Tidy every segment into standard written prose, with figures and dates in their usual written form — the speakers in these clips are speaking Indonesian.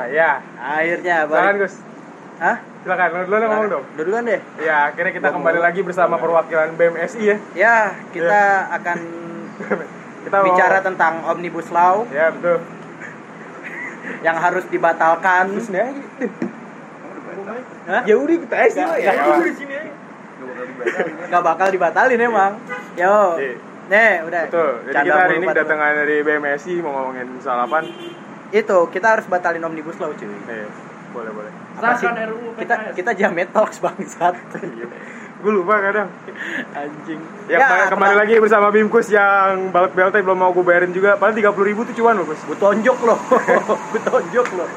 ya. Akhirnya Silakan Gus. Hah? Silakan, lu duluan ngomong dong. Duluan deh. Ya, akhirnya kita kembali lagi bersama perwakilan BMSI ya. Ya, kita akan Kita bicara tentang Omnibus Law Ya, betul. yang harus dibatalkan. Terus nih aja. Hah? Ya udah kita aja lah ya. Nggak. Di sini aja. Gak bakal dibatalin emang. Yo. Iya. Nih, udah. Betul. Jadi Canda kita hari mulu, ini Pak. kedatangan dari BMSI mau ngomongin soal apa? Itu, kita harus batalin Omnibus Law, cuy. Boleh. Apa sih? Sahkan RUU PKS. Kita Jamet Talks bangsat. Gue lupa kadang. Anjing. Ya, kembali lagi bersama Bimkus yang balik BLT belum mau gue bayarin juga. Padahal 30.000 tuh cuan loh, Gus. Gue tonjok loh. Gue tonjok loh.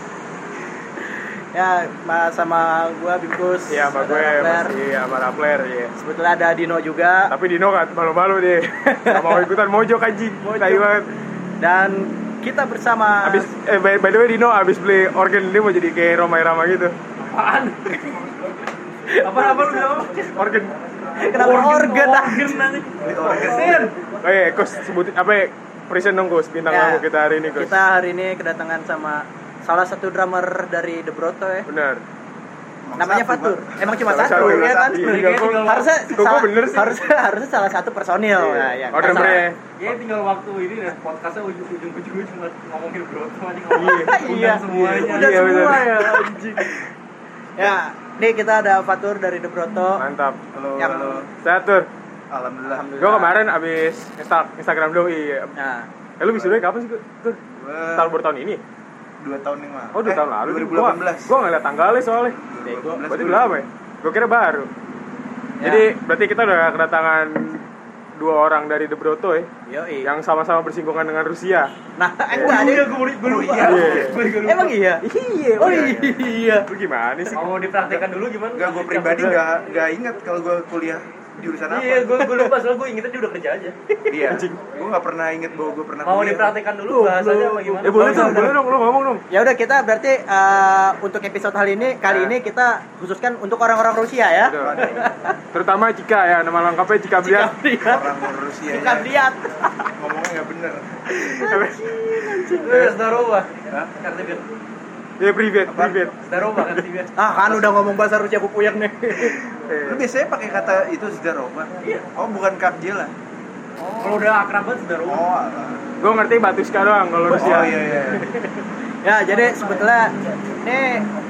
Ya, sama gua Bimkus. Iya, sama gue masih sama Rappler ya. Sebetulnya ada Dino juga. Tapi Dino kan malu-malu deh. Gak mau ikutan mojok anjing. Tai banget. Dan kita bersama Abis by the way Dino abis beli organ dia mau jadi kayak Roma Irama gitu. Apaan? Apa lu bilang apa? Organ. kenapa organ nanti. Organ. Oh iya, Gus sebutin apa ya? Present dong Gus, bintang Ya, tamu kita hari ini Gus. Kita hari ini kedatangan sama salah satu drummer dari The Broto ya. Benar. Namanya Fatur. Emang cuma Salah satu satu, ya kan? iya, Harusnya Kok salah, bener sih? harusnya salah satu personil. Iya. Nah, ya. Oh, drummernya. Ya tinggal waktu ini deh podcastnya ujung-ujungnya cuma ngomongin Broto aja Iya. semuanya. Udah Iya, semua bener. ya anjing. Ya, nih kita ada Fatur dari The Broto. Mantap. Halo. Sehat Tur. Alhamdulillah. Gue kemarin abis Instagram doi. Nah, Lu wisuda kapan sih Tur? Tahun baru tahun ini? 2 tahun yang lalu. Oh, 2 tahun lalu. 2018. Gua enggak lihat tanggalnya soalnya. Berarti udah lama ya? Gua kira baru. Ya. Jadi berarti kita udah kedatangan 2 orang dari The Broto ya, yoi. yang sama-sama bersinggungan dengan Rusia. Nah, enggak ada. Gue lupa. Iya. Emang iya? Iya. Oh iya. Lu gimana sih? Mau dipraktekkan dulu gimana? Enggak, gue pribadi enggak ingat kalau gue kuliah jurusan apa. Iya, gue lupa soalnya gue ingetnya dia udah kerja aja. Iya. Gue enggak pernah inget bahwa gue pernah Mau kuliah. dipraktekkan dulu bahasanya apa gimana? Boleh dong, lu ngomong dong. Ya udah kita berarti untuk episode kali ini kita khususkan untuk orang-orang Rusia ya. Udah. Terutama Cika ya, nama lengkapnya Cika Bliat. Orang Rusia. Bukan lihat. Ngomongnya enggak bener. Zdarova. Hah? Kartu bir. Ya privat. Zdarova kan sih. Kan udah ngomong bahasa Rusia kupuyak nih. Lu biasanya pakai kata itu Zdarova? Iya. Oh, bukan Kapjela. Kalau udah akrab banget Zdarova. Oh, alah. Gua ngerti Batuska doang kalau Rusia. Oh iya. Ya, jadi sebetulnya ini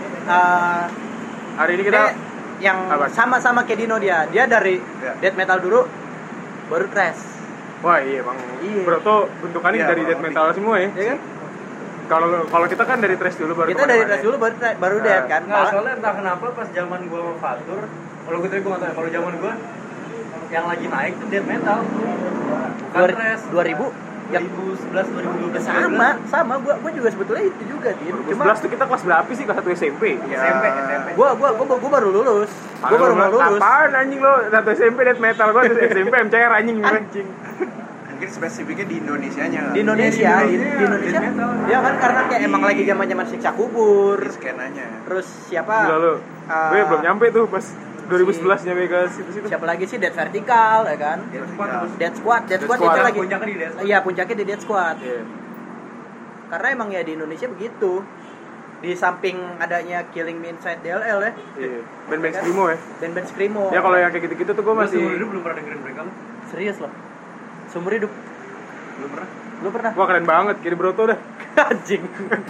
Hari ini kita yang apa? sama-sama kayak Dino dia. Dia dari Ya. death metal dulu baru thrash. wah iya Bang. Iya. Broto bentukannya Iya, dari Bang. death metal semua ya. Ya kan? Kalau kita kan dari thrash dulu baru Kita dari kemana-mana thrash ya. dulu baru Nah, death kan. Enggak, soalnya entah kenapa pas zaman gua sama Fatur, kalau gue nggak tahu ya, kalau zaman gua yang lagi naik tuh death metal. Bukan thrash. 2000 yang 2011 2012 sama gua juga sebetulnya itu juga Din. Cuma 2011 tuh kita kelas berapa sih? Kelas 1 SMP. Ya. SMP. gua baru lulus. Gua baru mau lulus. Apaan anjing lo? 1 SMP death metal, gua 1 SMP MCR anjing. Mungkin spesifiknya di Indonesianya. Di Indonesia, di Indonesia. death metal. Ya kan karena kayak emang lagi zaman-zaman siksa kubur. Di skenanya. Terus siapa? Gila lo. Gue belum nyampe tuh pas 2011 nyampe ke situ-situ. Siapa lagi sih Dead Vertical ya kan? Dead Squad itu Squad. lagi. Puncaknya di Death Squad. Iya, puncaknya di Dead Squad. Iya. Karena emang ya di Indonesia begitu. Di samping adanya Killing Me Inside DLL ya. Iya. Band-band screamo ya. Band-band screamo. Ya kalau yang kayak gitu-gitu tuh gue Gua masih seumur hidup belum pernah dengerin mereka. Serius loh. Seumur hidup. Belum pernah. Lu pernah? wah keren banget kiri Broto dah. Anjing.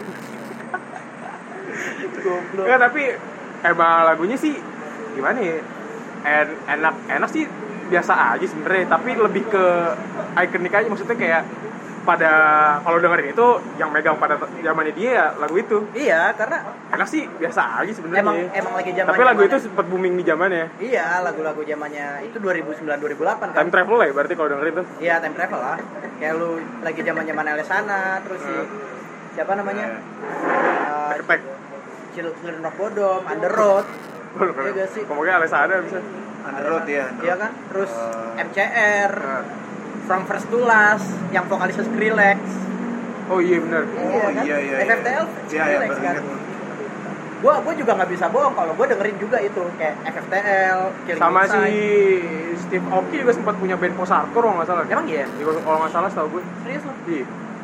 Goblok. Ya tapi emang lagunya sih gimana ya? Enak sih biasa aja sebenarnya, tapi lebih ke ikonik aja, maksudnya kayak pada kalau dengerin itu yang megang pada zamannya dia ya lagu itu. Iya, karena Enak sih biasa aja sebenarnya. emang lagi zaman. Tapi lagu itu sempat booming di zamannya. Iya, lagu-lagu zamannya itu 2009 2008 kan. Time travel lah ya berarti kalau dengerin tuh. Iya, time travel lah. Kayak lu lagi zaman-zaman Alesana, terus si siapa namanya? Attack. Children of Bodom, Under Road. Iya gak sih? Ngomongnya Alessandra bisa. Underroad ya. Iya kan? Terus MCR, Nah. From First to Last, yang vokalisnya Skrillex. Oh iya benar. Oh kan? iya. FFTL, Iya, Skrillex kan. Gua juga nggak bisa bohong kalau gua dengerin juga itu kayak FFTL, Killing Sama si Inside. Steve Aoki juga sempat punya band post hardcore kalau nggak salah. Emang iya? Iya, kalau nggak salah setahu gue. Serius loh? Iya.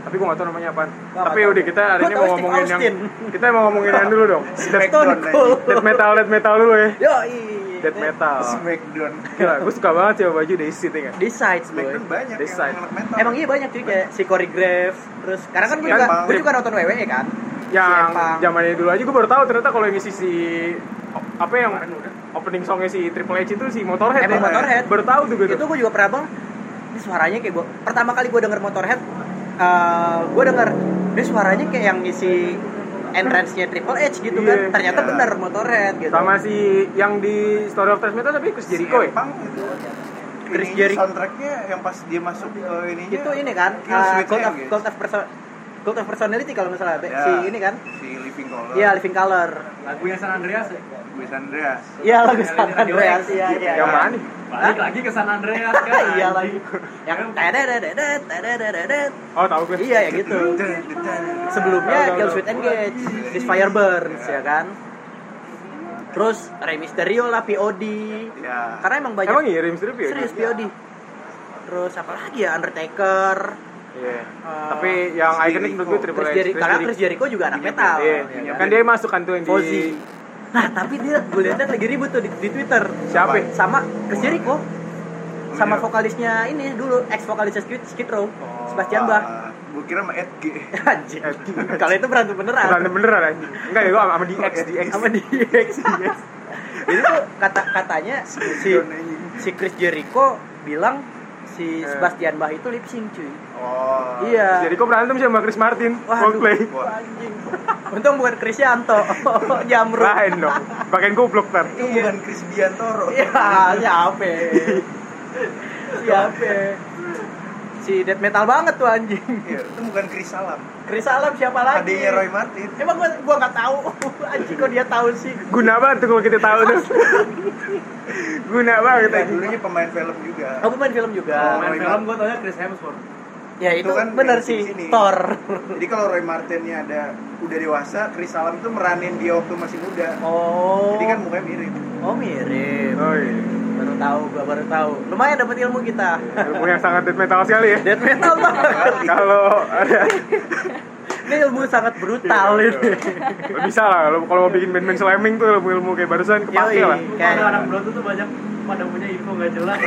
tapi gue nggak tahu namanya apaan. Gua Tapi nggak udah tahu. kita hari Gua ini tahu mau Steve ngomongin yang Austin. kita mau ngomongin yang dulu dong. Stone Cold. Death metal dulu ya. Yoi. Death metal. Smackdown. Gila, gue suka banget sih sama baju Dayside ya. Di sides boy. Smackdown banyak This side. yang anak metal. Emang iya banyak cuy kayak si choreograph terus karena kan Empang. gue juga nonton WWE kan. Yang Si Empang. zamannya dulu aja gue baru tahu ternyata kalau yang ngisi si apa yang opening songnya si Triple H itu si Motorhead. Emang ya. Motorhead. Baru tahu tuh gue. Itu gue juga pernah bang. Ini suaranya kayak gue pertama kali gue denger Motorhead, gue denger ini suaranya kayak yang ngisi entrance-nya Triple H gitu kan. Iya. Ternyata Iya. bener Motorhead gitu. Sama si yang di Story of Thrash Metal tapi Chris Jericho ya. Empang itu. Chris Ini Jericho. soundtracknya yang pas dia masuk ke ininya. Itu ini kan Kill Switch Cult Engage. of Personality kalau nggak salah. Ya, Si ini kan. si Living Color. Iya, Living Color. Lagunya San Andreas ya. Luis Andreas. Iya, lagu San Radio Andreas. X. Iya, iya. Yang mana nih? Balik lagi ke San Andreas kan. Iya lagi. Yang tededededet. Oh, tahu gue. Iya, ya gitu. Sebelumnya Tahu, Kill tahu. Switch Engage, This Fire Burns ya kan. Terus Rey Mysterio lah POD. Ya. Karena emang banyak. Emang iya Rey Mysterio ya? Serius POD. Terus apa lagi ya Undertaker. Iya. Tapi yang Chris ikonik menurut gue Triple Chris H. Jericho. Karena Chris Jericho juga anak metal. Iya. ya Kan dia masuk kan tuh yang Fozzy. di Nah tapi dia gue liatnya lagi ribut tuh di Twitter. Siapa? Sama Chris Jericho. Sama Iya. vokalisnya ini dulu ex vokalisnya Skid Row, Sebastian Bach. Gue kira sama Edg. Anjing. Kalau itu berantem beneran. Berantem beneran anjing. Enggak ya gue sama DX. Sama DX. Jadi tuh katanya si Chris Jericho bilang si Sebastian Bach itu lip sync cuy. Oh. Iya. Jadi kok berantem sih sama Chris Martin, Waduh. Coldplay. Wah. Anjing. Untung bukan Krisyanto. Jamrut. Lain dong. Pakein goblok ntar. Itu bukan Chris Biantoro. Iya, siapa? Siapa? Si death metal banget tuh anjing. Iya, itu bukan Chris Salam. Chris Alam siapa lagi? Adanya Roy Martin. Emang gua enggak tahu. Anjing kok dia tahu sih. Guna banget tuh kalau kita tahu tuh. Guna banget Kita anjing. dulunya pemain film juga. Aku main film juga. Main film gue taunya Chris Hemsworth. Ya itu kan bener main sih di sini. Thor. Jadi kalau Roy Martinnya udah dewasa, Chris Salam itu meranin dia waktu masih muda. Oh. Jadi kan mukanya mirip. Oh mirip. Oh iya. Gua baru tahu. Lumayan dapat ilmu kita. Ilmu yang sangat death metal sekali ya. Death metal banget. Kalau ada Ini ilmu sangat brutal ini. lo bisa lah kalau mau bikin band-band slamming tuh ilmu kayak barusan kepake Yoi. lah. Kayak- Kalau anak Broto tuh banyak pada punya info nggak jelas.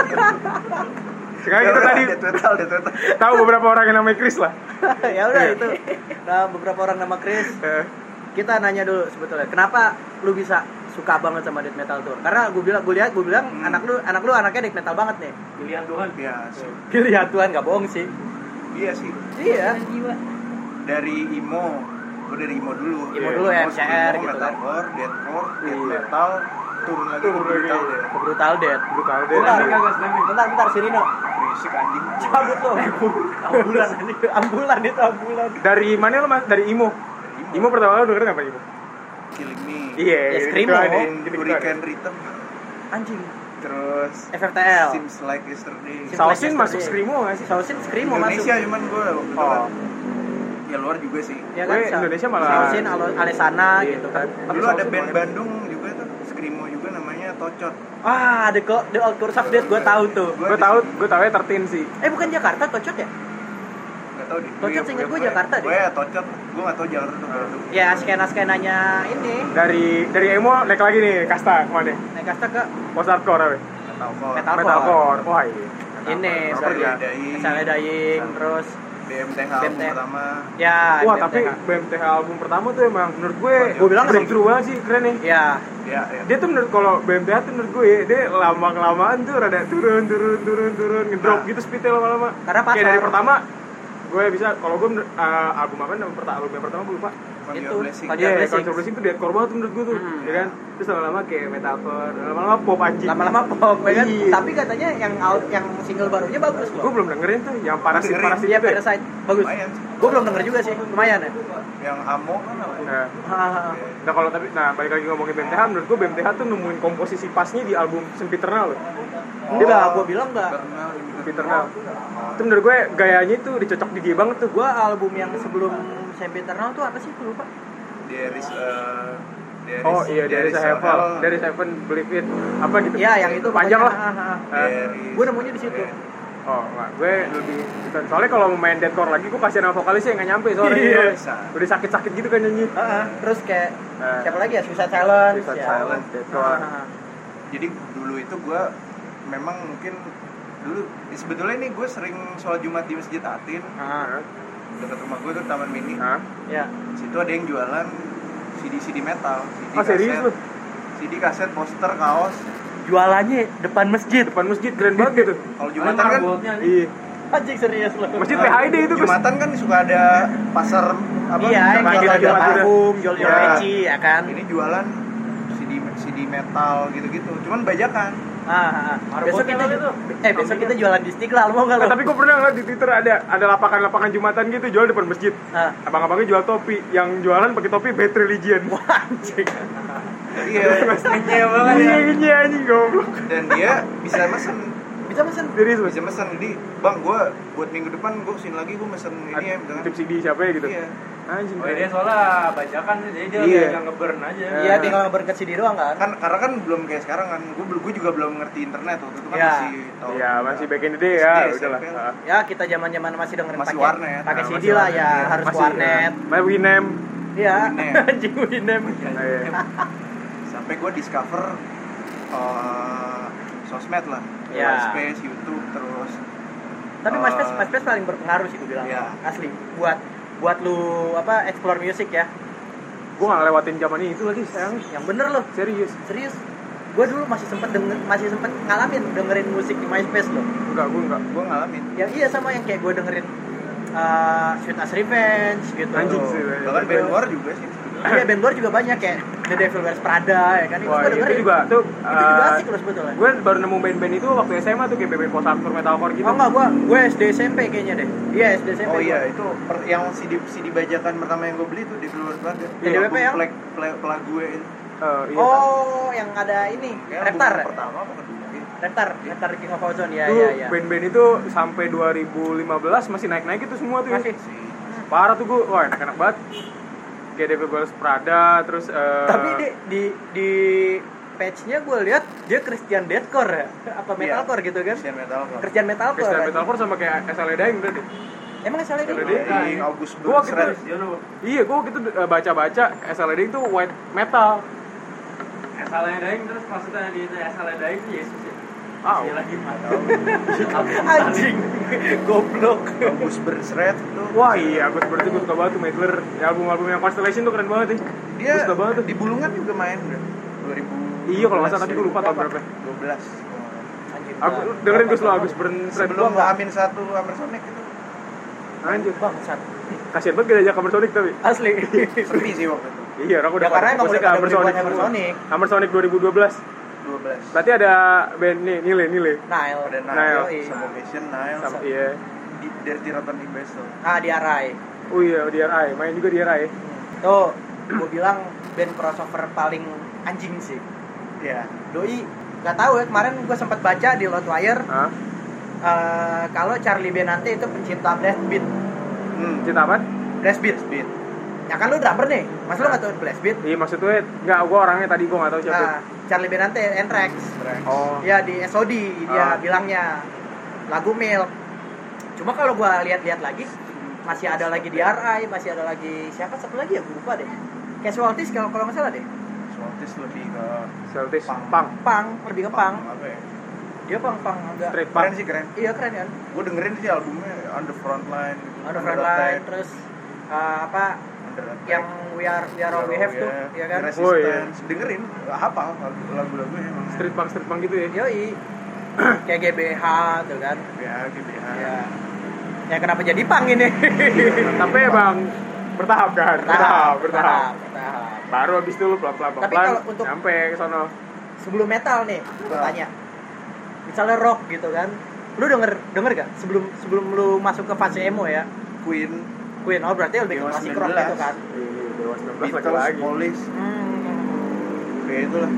Sekarang kita tadi Death metal. tahu beberapa orang yang namanya Chris lah. Ya udah itu. Nah, beberapa orang nama Chris. Eh, Kita nanya dulu sebetulnya, kenapa lu bisa suka banget sama death metal tuh? Karena gue bilang anak lu anaknya death metal banget nih. Pilihan Tuhan. Ya, sih. Pilihan Tuhan gak bohong sih. Iya sih. Iya. Dari emo. Gue dari emo dulu. Emo dulu ya, MCR gitu kan. Metalcore, deathcore, death Iya. metal, turun lagi Turun ke brutal lagi. deh. Ke Brutal Death. brutal deh. Bentar, Slamming kagak, slamming? bentar si Rino. Berisik anjing. Cabut lo. Ambulan. Ambulan itu ambulan. Dari mana lo Mas? Dari Imo. Imo pertama kali lo dengerin apa Imo? Killing Me. Iya, Ya, gitu Screamo. ada. Dan Gitu-gitu Hurricane Rhythm. Anjing. Terus FFTL. Seems Like Yesterday. Seems Sausin Like masuk Yesterday. Screamo nggak sih? Sausin Screamo Indonesia masuk. cuman gue waktu itu Oh. kan. Ya luar juga sih. Ya Gue kan? Indonesia malah- Sausin Alesana Iya. gitu kan. Dulu ada band Bandung juga tuh, Screamo juga namanya Tocot. Ah, The Old Tours of Death gue tahu tuh. Gue tahu ya 13 sih. Bukan Jakarta Tocot ya? Gak tau deh. Tocot seinget gue Jakarta deh. Gue ya Tocot, gue gak tau Jakarta tuh Bandung. Ya skena-skenanya ini. Dari Emo naik lagi nih kasta kemana? Naik kasta ke Post hardcore apa? Metalcore. Metalcore. Metalcore. Wah iya. ini Seperti seperti Misalnya Dying terus BMTH album BMTH. pertama. ya Wah BMTH. tapi BMTH album pertama tuh emang menurut gue Gue bilang breakthrough banget sih, keren nih. ya Ya, ya. Dia tuh menurut kalau BMTH tuh menurut gue dia lama-kelamaan tuh rada turun ngedrop Nah. gitu speednya lama-lama. Karena pasar. Kayak dari pertama gue bisa kalau gue album apa album yang pertama gue lupa. Conjure itu Blessing. Conjure Iya, Blessing. Conjure Blessing tuh deadcore banget tuh menurut gue tuh, ya kan. Terus lama-lama kayak metalcore, lama-lama pop anjing. lama-lama pop ya kan. Iya. Tapi katanya yang single barunya bagus Gue loh. belum dengerin tuh yang parasit Dengerin. parasit Iya itu. Ya? Parasite bagus. Lumayan. Gue belum denger juga sih, lumayan ya. Yang Amo kan apa? Nah, Hahaha. nah kalau tapi balik lagi ngomongin BMTH, menurut gue BMTH tuh nemuin komposisi pasnya di album Sempiternal loh. Dia lah, gue bilang enggak. Sempiternal. Itu menurut gue gayanya tuh dicocok di G banget tuh. Gue album yang sebelum Sempiternal tuh apa sih? Gue lupa. Oh iya, dari Heaven Believe It apa gitu. Iya, yang itu panjang pokoknya. lah. Gue nemunya di situ. Oh, enggak. Gue lebih soalnya kalau mau main deathcore lagi gue kasihan sama vokalisnya yang nggak nyampe suaranya. Iya. Udah sakit-sakit gitu kan nyanyi. Terus kayak siapa lagi ya? Suicide Silence. Suicide ya. Silence, deathcore. Jadi dulu itu gue memang mungkin dulu sebetulnya nih gue sering sholat Jumat di Masjid Atin. Dekat rumah gue tuh Taman Mini. Ya. Situ ada yang jualan CD metal, CD Oh, serius lu? CD kaset, poster, kaos. Jualannya depan masjid. Depan masjid keren banget gitu. Kalau Jumatan kan Iya. Anjing serius lu. Masjid PHID itu Gus. Jumatan kan suka ada pasar apa? Iya, yang Jumat, jual Jumat. parfum, jual Ya. peci, ya kan. Ini jualan CD metal gitu-gitu. Cuman bajakan. Besok kita jualan di Istiqlal, mau nggak lo? Tapi gue pernah ngeliat di Twitter ada lapangan Jumatan gitu jual depan masjid. Abang-abangnya jual topi, yang jualan pakai topi Bad Religion. Wah, anjing. Iya. Ngenyeh banget ya. Iya anjing goblok. Dan dia bisa mesen. Bisa mesen. Serius Mas. Bisa mesen. Jadi, Bang, gue buat minggu depan gue kesini lagi gue mesen ini ya dengan Tip CD siapa ya gitu. Iya. Anjing. Oh, dia soalnya bajakan sih, jadi dia Iya. tinggal nge-burn aja. Iya, tinggal ngeberkat CD doang kan. Karena kan belum kayak sekarang kan. Gue juga belum ngerti internet waktu itu kan Iya. masih tahu. Iya, masih back in the day ya, SD, udahlah. SMP. Ya, kita zaman-zaman masih dengerin Masih pakai warnet. pakai Nah, CD masih lah warnet, ya, iya. harus Masih warnet. main Winem. Iya, Winem. anjing Winem. Iya. Sampai gue discover sosmed lah. Iya. MySpace, YouTube, terus Tapi MySpace paling berpengaruh sih gue bilang. Iya. Asli. Buat lu explore music ya. Gue nggak lewatin zaman itu lagi sayang. Yang bener loh. Serius. Gue dulu masih sempet ngalamin dengerin musik di MySpace loh. Enggak. gue ngalamin. Yang iya sama yang kayak gue dengerin Sweet As Revenge gitu. Anjing sih. Bahkan band luar juga sih. Iya, band luar juga banyak kayak The Devil Wears Prada ya kan. Wah, gua itu dengerin. juga tuh. Itu juga asik loh sebetulnya. Gue baru nemu band-band itu waktu SMA tuh kayak band post hardcore metalcore gitu. Oh enggak, gue SD SMP kayaknya deh. Iya, SD SMP. Oh iya, gua. itu yang CD bajakan pertama yang gue beli tuh di Luar Prada. DWP yang? Pelag gue itu. Iya. Oh, yang ada ini, Kayak Reptar. album pertama apa kedua? Reptar King of Ozone ya, Tuh ya. band-band itu sampai 2015 masih naik-naik itu semua tuh ya. Masih. Parah tuh gue, wah enak-enak banget. Kayak Devil Wears Prada, terus Tapi di page-nya gue lihat dia Christian Deathcore ya, apa metalcore gitu kan? Christian Metalcore. Christian metalcore. Christian kan? Metalcore sama kayak SLA Dying berarti. Emang salah SLA ini? Dying. August Gua waktu Burns itu, iya gue gitu baca-baca SLA Dying tuh white metal. SLA Dying terus maksudnya di SLA Dying itu Yesus ya? Ah, Iya lagi Anjing, goblok. August Burns Red itu. wah iya, gue berarti gue suka banget tuh Meidler. Ya, album-album yang Constellation tuh keren banget ya. Dia Gua suka banget tuh. di Bulungan juga main udah. 2000. Iya kalau nggak salah, tapi gue lupa tahun berapa. 12. Anjing. Aku dengerin gue selalu Agus Burns Red Sebelum gua. Amin 1 Hammer Sonic itu. Anjir, Bangsat. kasian banget gak ada Hammer Sonic tapi. Asli. Sepi sih waktu itu. Iya, aku udah Ya karena emang udah pada Hammer beli Sonic. Hammer Sonic. Hammer Sonic 2012. 12. Berarti ada band nih, Nile. Nile. Ada Nile. Nile, Suffocation, Nile, Sama, iya. Dirty Rotten Imbecile. Di Arai. Oh iya, DRI, main juga DRI. Tuh, gue bilang band crossover paling anjing sih. Iya. Doi, nggak tahu ya, kemarin gue sempat baca di Loudwire Hah? kalau Charlie Benante itu pencipta blast beat. Cinta apa? Blast beat. Beat. Ya kan lu drummer nih, mas lu nggak tahu blast beat? Iya maksudnya, enggak, gue orangnya tadi gue nggak tahu siapa. Charlie Benante, Anthrax. Oh. Ya di SOD dia Ah. bilangnya lagu Milk. Cuma kalau gue lihat-lihat lagi masih ada lagi DRI, masih ada lagi siapa satu lagi ya gue lupa deh. Casualties kalau nggak salah deh. Swantis lebih ke Celtics, Punk. punk. Lebih ke punk. Apa ya? Dia punk agak. Street Keren punk. sih, keren. Iya keren kan. Gue dengerin sih albumnya On the Front Line gitu. On the Front Line, terus apa Under Attack, yang We Are All We Have tuh, ya kan? Resistance. Oh, iya. Dengerin, hafal lagu-lagunya emang. Street punk gitu ya. Yoi. Kayak GBH tuh kan. Ya, GBH. Ya. Ya kenapa jadi punk ini? Tapi emang bertahap kan? Bertahap. bertahap. Baru habis itu lu pelan-pelan Tapi kalau untuk- sampai ke sono. Sebelum metal nih, gue tanya. Misalnya rock gitu kan. Lu denger gak sebelum lu masuk ke fase emo ya? Queen, Queen, oh berarti lebih ke Dewa klasik rock 19. gitu kan. Dewa 19 Beatles, lagi. Police, Hmm. kayak itulah.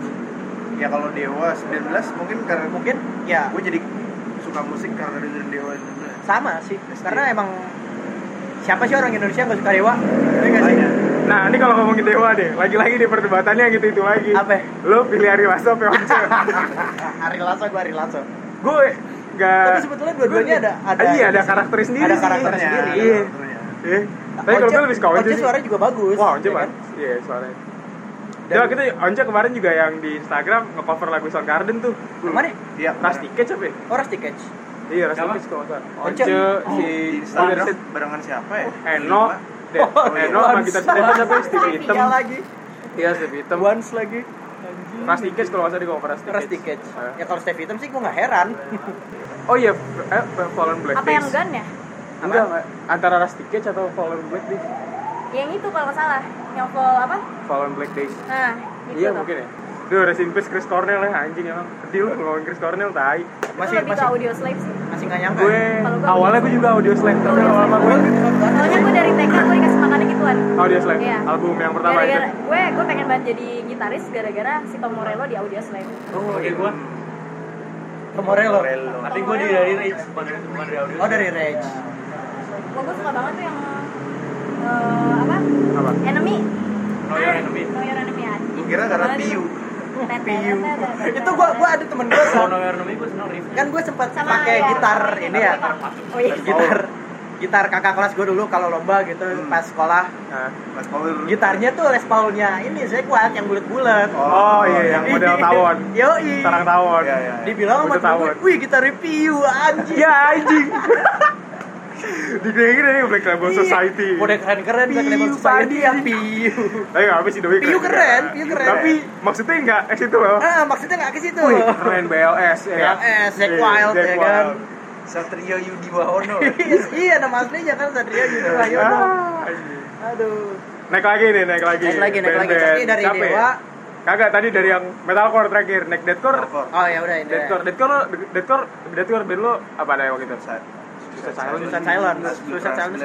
Ya kalau Dewa 19 mungkin karena Mungkin ya gue jadi suka musik karena dengerin Dewa 19. sama sih. Karena emang siapa sih orang Indonesia nggak suka Dewa? Iya nggak sih? Nah, ini kalau ngomongin Dewa deh, lagi-lagi di perdebatannya gitu-itu lagi. Apa? Lu pilih Ari Lasso apa Once? Ari Lasso, gue Ari Lasso. Gue Tapi sebetulnya dua-duanya ada karakter sendiri. Ada karakter sendiri. Iya. Tapi kalau gue lebih suka Once sih. Suaranya juga bagus. Wah, Once ya kan? Iya, suaranya. Ya kita Once kemarin juga yang di Instagram nge-cover lagu Soundgarden tuh. Mana? Iya. Rusty Cage apa ya? Oh, Rusty Cage. Iya, Rusty Cage kalau enggak. Once si Instagram barengan siapa ya? Eno sama gitar Steve siapa? Steve Hitam lagi. Iya, Steve Hitam. Once lagi. Rusty Cage kalau nggak salah di cover Rusty Cage. Ya kalau Steve Hitam sih gue nggak heran. Oh iya, Fallen Black Apa yang Gun ya? Enggak, antara Rusty Cage atau Fallen Black Days. Yang itu kalau nggak salah, yang Fall apa? Fallen Black Days. Nah, gitu Iya tuh. mungkin ya. Duh, rest in peace Chris Cornell ya, anjing emang. Sedih lu ngomongin Chris Cornell, tai. Itu lebih ke audio slave sih. Masih nggak nyangka. Gue Kalau gue awalnya audio gue juga audio slave, tapi Audio lama-lama gue Soalnya gue dari TK gue dikasih makannya gituan. audio slave. Iya. Album yang pertama Gara-gara itu. gue pengen banget jadi gitaris gara-gara si Tom Morello di audio slave. Oh, Oke, gue Morello. tapi gue dari Rage bukan dari audio. Oh, dari Rage. Gue suka banget tuh yang apa? Apa? Enemy. No Your Enemy. No Your Enemy ya. Gue kira karena Piu. Piu. Itu gua ada temen gue Kalau No Your Enemy gue seneng riff. kan gue sempat Sama pakai ya. gitar ini ya. Oh iya. Gitar kakak kelas gue dulu kalau lomba gitu pas sekolah. Nah. Mas Paul. Gitarnya tuh Les Paul-nya ini saya kuat yang bulat-bulat. Oh iya, yang model tawon. Yoi. Sarang tawon. Iya, iya. Dibilang sama Butuh tawon. temen gue, wih gitar review anjing. Ya anjing. Dikira nih Black Label Society. Udah keren-keren Black Label Piu, Society ya Padi. Piu. Tapi nggak apa sih Doi Piu keren, Piu keren. Tapi maksudnya nggak ke situ loh. Ah, maksudnya nggak ke situ. Wih, keren BLS ya. BLS, Zack Iya, Wild, Zack ya kan? Wild. Satria Yudi Wahono. Iya, nama aslinya kan Satria Yudi Wahyono. anjing. Aduh. Naik lagi. Naik lagi. Band-band. Tapi dari Siapa ya? Dewa. Kagak, tadi dari yang metalcore terakhir. Naik deathcore. Oh ya udah ini. Deathcore band lo apa ada waktu itu? Suicide Silence. Suicide Silence.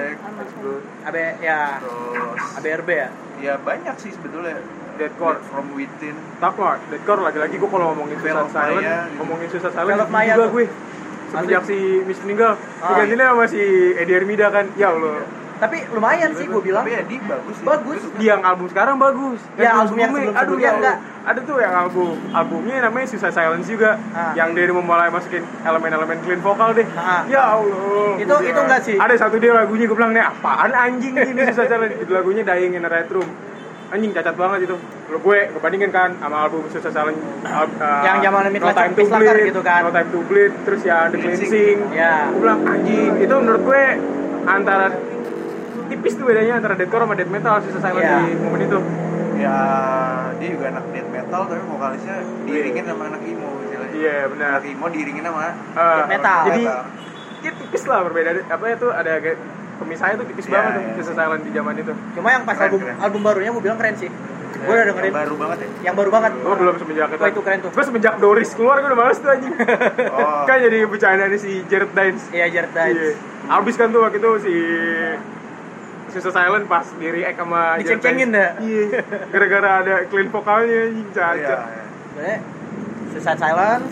AB ya. Terus ABRB ya. ya banyak sih sebetulnya. Deathcore. From Within. Takwa, deathcore lagi-lagi gue kalau ngomongin Veil Suicide of Silence, Maya. ngomongin Suicide Silence Veil of Maya juga tuh. gue. Semenjak si Miss meninggal, Ah, digantinya sama si Eddie Hermida kan. Ya Allah. Tapi lumayan sih gue bilang. Tapi Edi bagus sih. Bagus. Di yang album sekarang bagus. Ya, album yang sebelumnya, sebelum-sebelumnya ya enggak. Allah. Ada tuh yang albumnya namanya Suicide Silence juga, Ah. yang dia mulai masukin elemen-elemen clean vokal deh. Ah. Ya Allah. Itu enggak sih? Ada satu dia lagunya gue bilang nih apaan anjing ini Suicide Silence. Itu lagunya Dying in a Red Room. Anjing cacat banget itu. Lo gue bandingin kan sama album Suicide Silence Yang zaman No Time to Midlife Bleed gitu kan. No Time to Bleed, terus ya The Cleansing. Ya. Gue bilang anjing, itu menurut gue antara tipis tuh bedanya antara deathcore sama death metal Suicide Silence Iya. di momen itu. Ya dia juga anak death metal tapi vokalisnya diiringin sama anak emo istilahnya. Iya benar. Anak emo diiringin sama Death metal. Jadi ya tipis lah berbeda. Apa ya tuh ada kayak pemisahnya tuh tipis Iya, banget tuh iya. Suicide Silence di zaman itu. Cuma yang pas Keren. album barunya gue bilang keren sih. Gue udah dengerin. Yang baru banget ya. Yang baru banget. Gue belum semenjak itu. Wah, itu keren tuh. Gue semenjak Doris keluar gue udah males tuh anjing. Oh. Kan jadi bercandaan si Jared Dines. Iya, Jared Dines. Iya. Abis kan tuh waktu itu si Suicide Silence pas di react sama Jared Diceng-cengin Dines. dah. Iya. Gara-gara ada clean vokalnya anjing Iya. cacat. Sebenarnya Suicide Silence,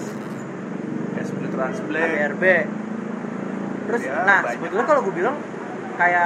Ya Split Transplay. ABRB. Terus Ya, nah, banyak. sebetulnya kalau gue bilang kayak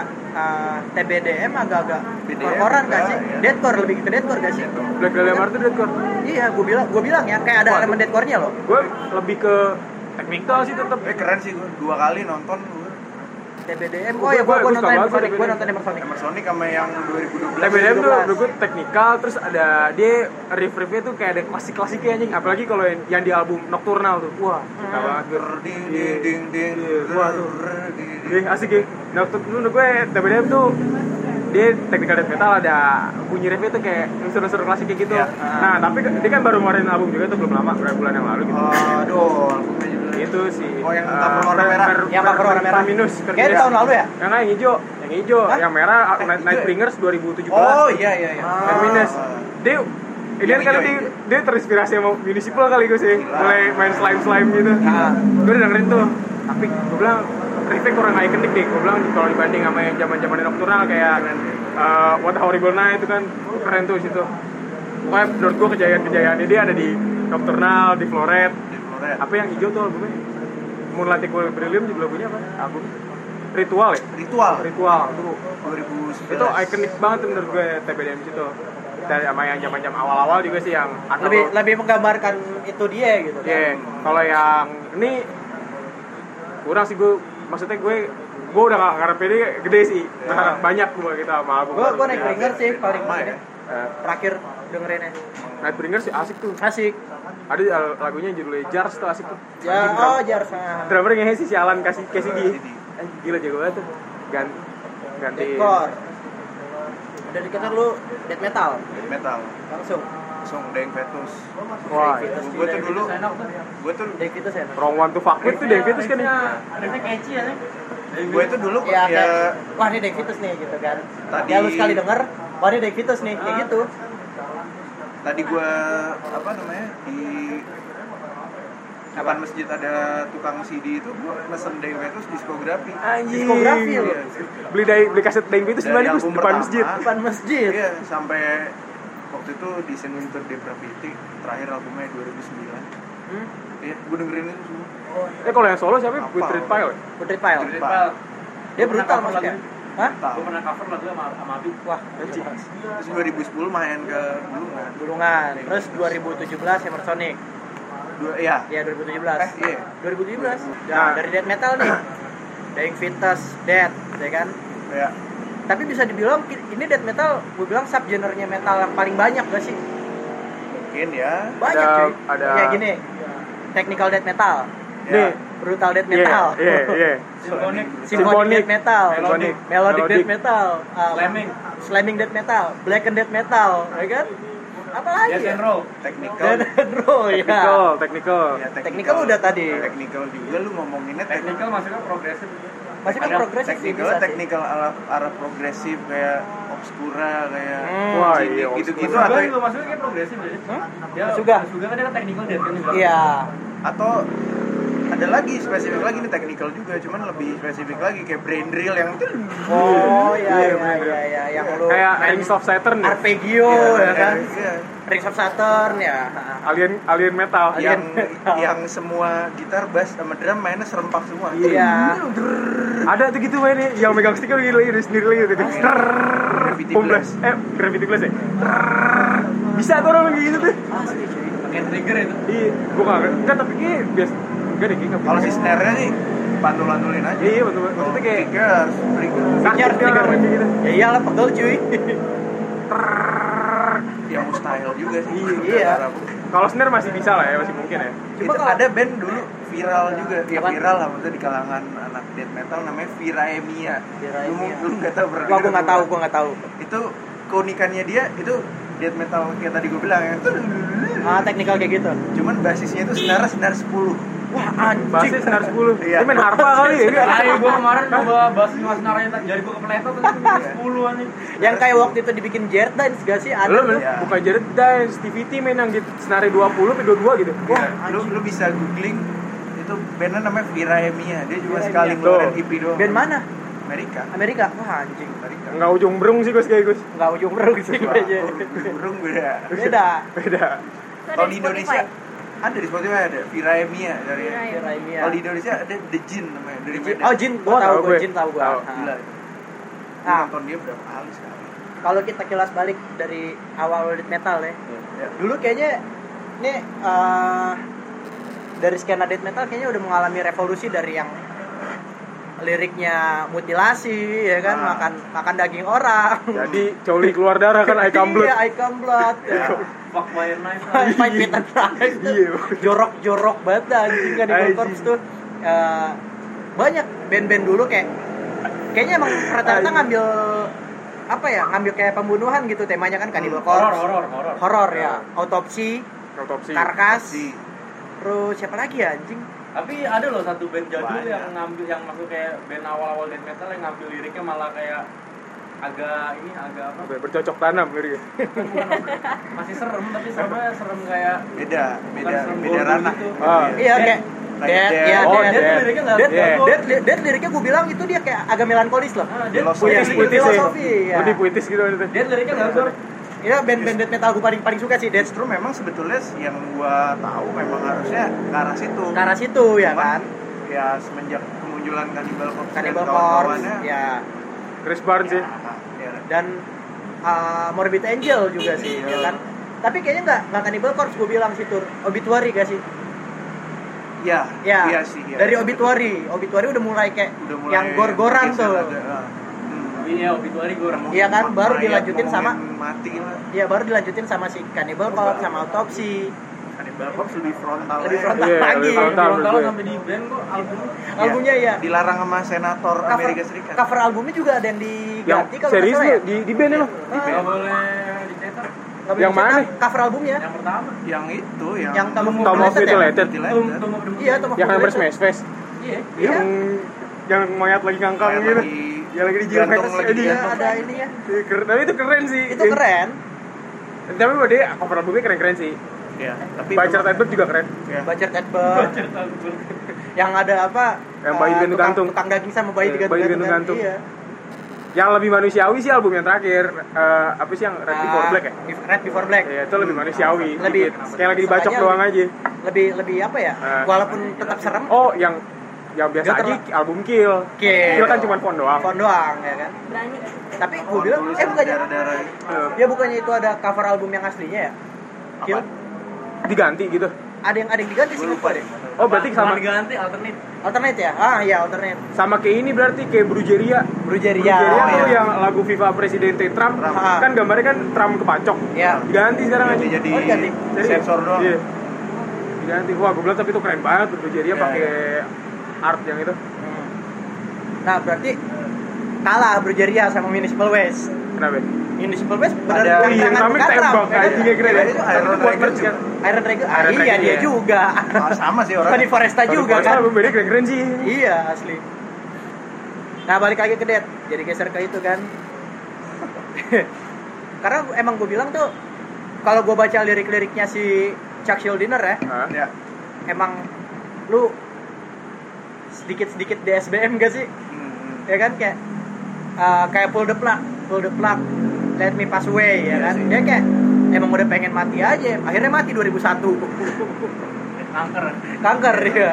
TBDM agak-agak BDM horor-horan gak juga, sih? ya. Deathcore lebih ke deathcore gak sih? Black Dahlia Murder deathcore. Iya, gue bilang ya kayak ada Wah, elemen deathcore-nya loh. Gue lebih ke technical sih tetap. Keren sih gue 2 kali nonton gue. TBDM. Gua- Oh ya, gue gua suka nonton banget Emersonic, TBDM. gue nonton Emersonic. Emersonic sama yang 2012. TBDM tuh 2012. menurut gue teknikal, terus ada dia riff-riffnya tuh kayak ada klasik-klasiknya anjing, apalagi kalau yang di album Nocturnal tuh, wah suka banget gue. Ding ding ding ding. Iya, wah tuh. Ding, ding. Iya asik ya. Menurut gue TBDM tuh dia technical death metal ada bunyi riffnya tuh kayak unsur-unsur klasiknya gitu. Iya. Nah tapi dia kan baru ngeluarin album juga tuh belum lama, beberapa bulan yang lalu gitu. Aduh, albumnya juga. Itu sih. Oh, yang cover warna merah. Yang cover warna merah. Minus. Kayaknya tahun lalu ya? Yang hijau, Hah? yang merah hijau Nightbringers 2017. Oh iya iya iya. Terminus. Dia ini Yang kan hijau, dia terinspirasi sama Municipal kali gue sih. Gila. Mulai main slime gitu. Ah. Gue udah dengerin tuh. Tapi gue bilang riffnya kurang ikonik deh. Gue bilang kalau dibanding sama yang zaman-zaman Nocturnal kayak What a Horrible Night itu kan keren tuh situ. Pokoknya menurut gue kejayaan-kejayaannya dia ada di Nocturnal, di Floret. Di Florida. Apa yang hijau tuh albumnya? Moonlight Equilibrium juga lagunya apa? Album Ritual ya? Ritual. Ritual tuh 2011. itu ikonik banget tuh menurut gue TBDM situ. Dari sama yang zaman-zaman awal-awal juga sih yang Lebih menggambarkan itu dia gitu kan. Iya, kalau yang ini kurang sih gue, maksudnya gue udah gak ngarepin ini gede sih, berharap banyak gue gitu sama album. Gue Nightbringer sih paling Sama ya? terakhir dengerinnya. Nightbringer sih asik tuh. Asik. Ada lagunya judulnya Jars tuh asik tuh. Ya, oh Jars. Drummernya si Alan Cassidy. Gila jago banget tuh. Ganti. Dekor. Dari kita lu death metal Metal. langsung. Dying Fetus. Wah, Gue tuh dulu, gue tuh Dave itu saya. Wrong One to Fuck With tuh Dave Vitus kan ya. Riffnya catchy ya nih. gue itu dulu Ya, ya wah ini Dave Vitus nih gitu kan. Tadi- Ya lu sekali denger, wah ini Dave Vitus nih kayak gitu. tadi gue apa namanya di depan masjid ada tukang CD itu gue mesen Dying Fetus diskografi. Diskografi lu. Iya. Beli kaset Dave Vitus Dari di album depan pertama. masjid. Depan masjid. Iya, sampai waktu itu di Sin Winter Depravity terakhir albumnya 2009. Iya, gue dengerin itu semua. Kalau yang solo siapa? Apa? Putrid Pile. Putri Pile. Putri Pile. Dia brutal maksudnya. Hah? Gue pernah cover lagu sama Abi. Wah, Terus 2010 main ke Bulungan. Gulungan. Terus 2017 Emersonic. Iya. Ya 2017. Iya. 2017. Nah. Nah, dari death metal nih. Dying Fetus, Death, ya kan? Iya. Tapi bisa dibilang ini death metal, gue bilang subgenre-nya metal yang paling banyak gak sih? Mungkin ya. Banyak cuy. ada- Ya gini. Technical death metal. Nih. Brutal death metal. Iya. Symphonic. Symphonic death metal. Melodic. Melodic death metal. Slamming death metal. Blackened death metal, ya kan? Apa lagi? Yes Ya? and roll. Technical. Death and roll, ya. Technical. Ya, Technical udah tadi. Technical juga lu ngomonginnya Technical maksudnya progresif. Masih kan progresif sih Technical, bisa sih. technical arah progresif kayak Obscura kayak Wah, Cynic, iya, gitu-gitu Suga atau juga maksudnya kayak progresif jadi. Ya, Suga. Suga kan dia kan technical dia kan juga. Iya. atau ada lagi spesifik lagi nih technical juga cuman lebih spesifik lagi kayak brain drill yang itu Oh, iya yang lu Kayak Rings of Saturn ya. arpeggio ya kan? iya. Rings of Saturn ya. Alien metal. yang semua gitar bass sama drum mainnya serempak semua Iya. Ada tuh gitu mainnya yang megang stick lagi sendiri lagi gitu. Gravity Boom blast. Gravity blast ya. Bisa tuh orang lagi gitu tuh. Asli cuy. Pakai trigger itu. Iya, gua enggak tapi kayak biasa enggak deh kayak. kalau si snare-nya nih pantul-pantulin aja Iya, betul. Maksudnya kayak tiga trigger Trigger, trigger. gitu. Ya iyalah pegel cuy. yang mustahil juga sih Iya. Kalau snare masih bisa lah ya, masih mungkin ya. Cuma itu kalau- ada band dulu viral juga ya Apaan? viral lah maksudnya di kalangan anak death metal namanya Viraemia Viraemia. lu nggak tahu pernah Wah, denger gua nggak tahu. itu keunikannya dia itu death metal kayak tadi gue bilang ya Ah, teknikal kayak gitu. cuman basisnya itu senar 10 Wah, anjing. Basis senar 10. Iya. Dia main harpa kali ya. Ayo gue kemarin coba bahas naranya jari gue kepletot terus 10 anjing. Yang kayak waktu itu dibikin Jared Dance gak sih? Ada Lu tuh. Ya. bukan Jared Dance, TVT main yang gitu senari 20 sampai 22 gitu. Wah, lu bisa googling itu bandnya namanya Viraemia dia cuma Viraemia. sekali ngeluarin EP doang Band mana? Amerika Amerika. Wah, anjing. Amerika Enggak ujung berung sih Gus kayak Gus. Enggak ujung berung sih gue aja. burung beda Beda. Beda. kalau di Indonesia ada di Spotify ada Viraemia dari Viraemia. kalau di Indonesia ada The Jin namanya dari Medan Oh, Jin, gua Oh, tahu, tahu gua gue. Jin tahu gua. Tahu. Ah. gila Ah. nonton dia berapa kali sekali Kalau kita kilas balik dari awal death metal ya. ya. Dulu kayaknya ini dari skena death metal kayaknya udah mengalami revolusi dari yang liriknya mutilasi ya kan, Ah. makan daging orang. Jadi coli keluar darah kan I come blood. Iya, I come blood. Ya. Fuck my knife. Fight with a knife. Iya. Jorok banget dah, anjing kan di Anjing. Corpse tuh. Banyak band-band dulu kayaknya emang rata-rata ngambil apa ya, ngambil kayak pembunuhan gitu temanya kan, Cannibal Corpse. Horor ya. Autopsi, Autopsi. Karkas. Si Terus siapa lagi ya anjing? Tapi ada loh satu band jadul Banyak. yang ngambil yang masuk kayak band awal-awal death metal yang ngambil liriknya malah kayak agak apa? Bercocok tanam gitu. Bukan, masih serem tapi serem kayak beda serem beda gordo ranah gitu. Ah. Iya kayak Like Dead, Dead. ya Oh, Dead. Dead. Dead liriknya nggak Yeah. Dead liriknya gue bilang itu dia kayak agak melankolis loh. Dead Filosofi. Puitis ya. Filosofi, ya. Lebih puitis gitu itu. Dead liriknya nggak gor. Iya band-band death metal gue paling suka sih Dead. justru memang sebetulnya yang gua tahu memang harusnya ke arah situ Ke arah situ ya Cuman, kan. ya semenjak kemunculan Cannibal Corpse dan Cannibal Corpse kawan-kawannya ya, Chris Barnes sih. ya. dan Morbid Angel juga sih ya kan. Tapi kayaknya nggak Cannibal Corpse gue bilang sih tur Obituary gak sih? Ya, Ya, iya sih. Iya. dari Obituary udah mulai kayak yang gor-goran tuh. Iya, obituari gue orang. Iya kan, baru dilanjutin sama mati lah. Iya, baru dilanjutin sama si Cannibal Corpse sama Autopsy. Cannibal Corpse lebih frontal. Lebih frontal Iya, lagi. lebih frontal. Kalau sampai di band kok Albumnya ya. Dilarang sama senator Amerika Serikat. Cover albumnya juga ada yang Yang diganti kalau serius nggak salah lu di band emang? nggak boleh dicetak. Nggak boleh Yang mana dicetak, nih? cover albumnya. Yang pertama. Yang itu Yang Tom of Tom of Mutilated ya? Mutilated. Tom of the Iya, Tom of Yang Mutilated. hampir smash face. Iya. Iya. Yang mayat lagi ngangkang Mayat gitu. lagi Yang lagi di gantung Jill lagi. Iya, ada ini ya. Tapi itu keren sih. Itu keren. Tapi buat dia cover albumnya keren-keren sih. Ya, tapi Bacard Edward juga keren. ya. Bacard Edward. Yang ada apa? Yang bayi digantung-gantung. Tukang daging sama bayi Bayi digantung-gantung. digantung-gantung. Iya. Yang lebih manusiawi sih album yang terakhir. Apa sih yang Red Before Black ya? Red Before Black. Iya, itu lebih manusiawi. Lebih- dikit. Kayak lagi dibacok sengaja doang aja. Lebih apa ya? Walaupun tetap serem. Oh, yang biasa Dia aja album Kill. Kill. Kill kan cuma font doang. Font doang ya kan. Berani. Tapi gue bilang bukannya darah-darah. ya bukannya itu ada cover album yang aslinya ya? Kill. Diganti gitu. Ada yang diganti sih lupa deh. Oh, berarti sama diganti alternate. Alternate ya? Ah iya alternate. sama kayak ini berarti kayak Brujeria. Brujeria. Brujeria tuh iya. yang lagu Viva Presidente Trump. Ah. Kan gambarnya kan Trump kepacok. Ya. Diganti sekarang aja. Jadi Oh, diganti. sensor doang. Iya. Diganti. Wah, gue bilang tapi itu keren banget Brujeria Iya, pakai art yang itu. Nah berarti kalah Brujeria sama Municipal Waste. Kenapa? Municipal Waste benar Ada- Oh iya, namanya tembak anjingnya keren ya. Itu Iron Itu buat Dragon merch kan. Iron Dragon. Ah, Iron iya Dragon, dia iya. juga. Sama sih orang. Tony Foresta juga kan. Album beda keren-keren sih. Iya asli. Nah balik lagi ke Dead. Jadi geser ke itu kan. Karena emang gue bilang tuh kalau gue baca lirik-liriknya si Chuck Schuldiner ya, Hah? Ya. emang lu sedikit-sedikit DSBM gak sih? Ya kan kayak pull the plug, let me pass away ya Iya kan. sih. Dia kayak emang udah pengen mati aja. Akhirnya mati 2001. Kanker ya.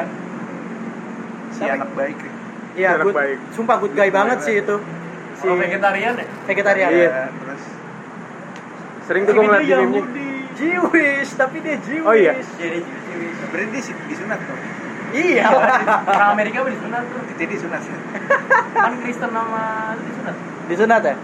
Si anak baik nih. Iya, Anak good, baik. sumpah good guy banget sih itu. Si Kalau vegetarian ya? vegetarian. Iya. Ya, terus Sering tuh gue ngeliat di meme-nya. Jewish, tapi dia Jewish. Oh, iya. Jadi berarti disunat tuh. Iya. orang Amerika udah disunat tuh. Jadi disunat. Kan Kristen sama disunat. Disunat ya?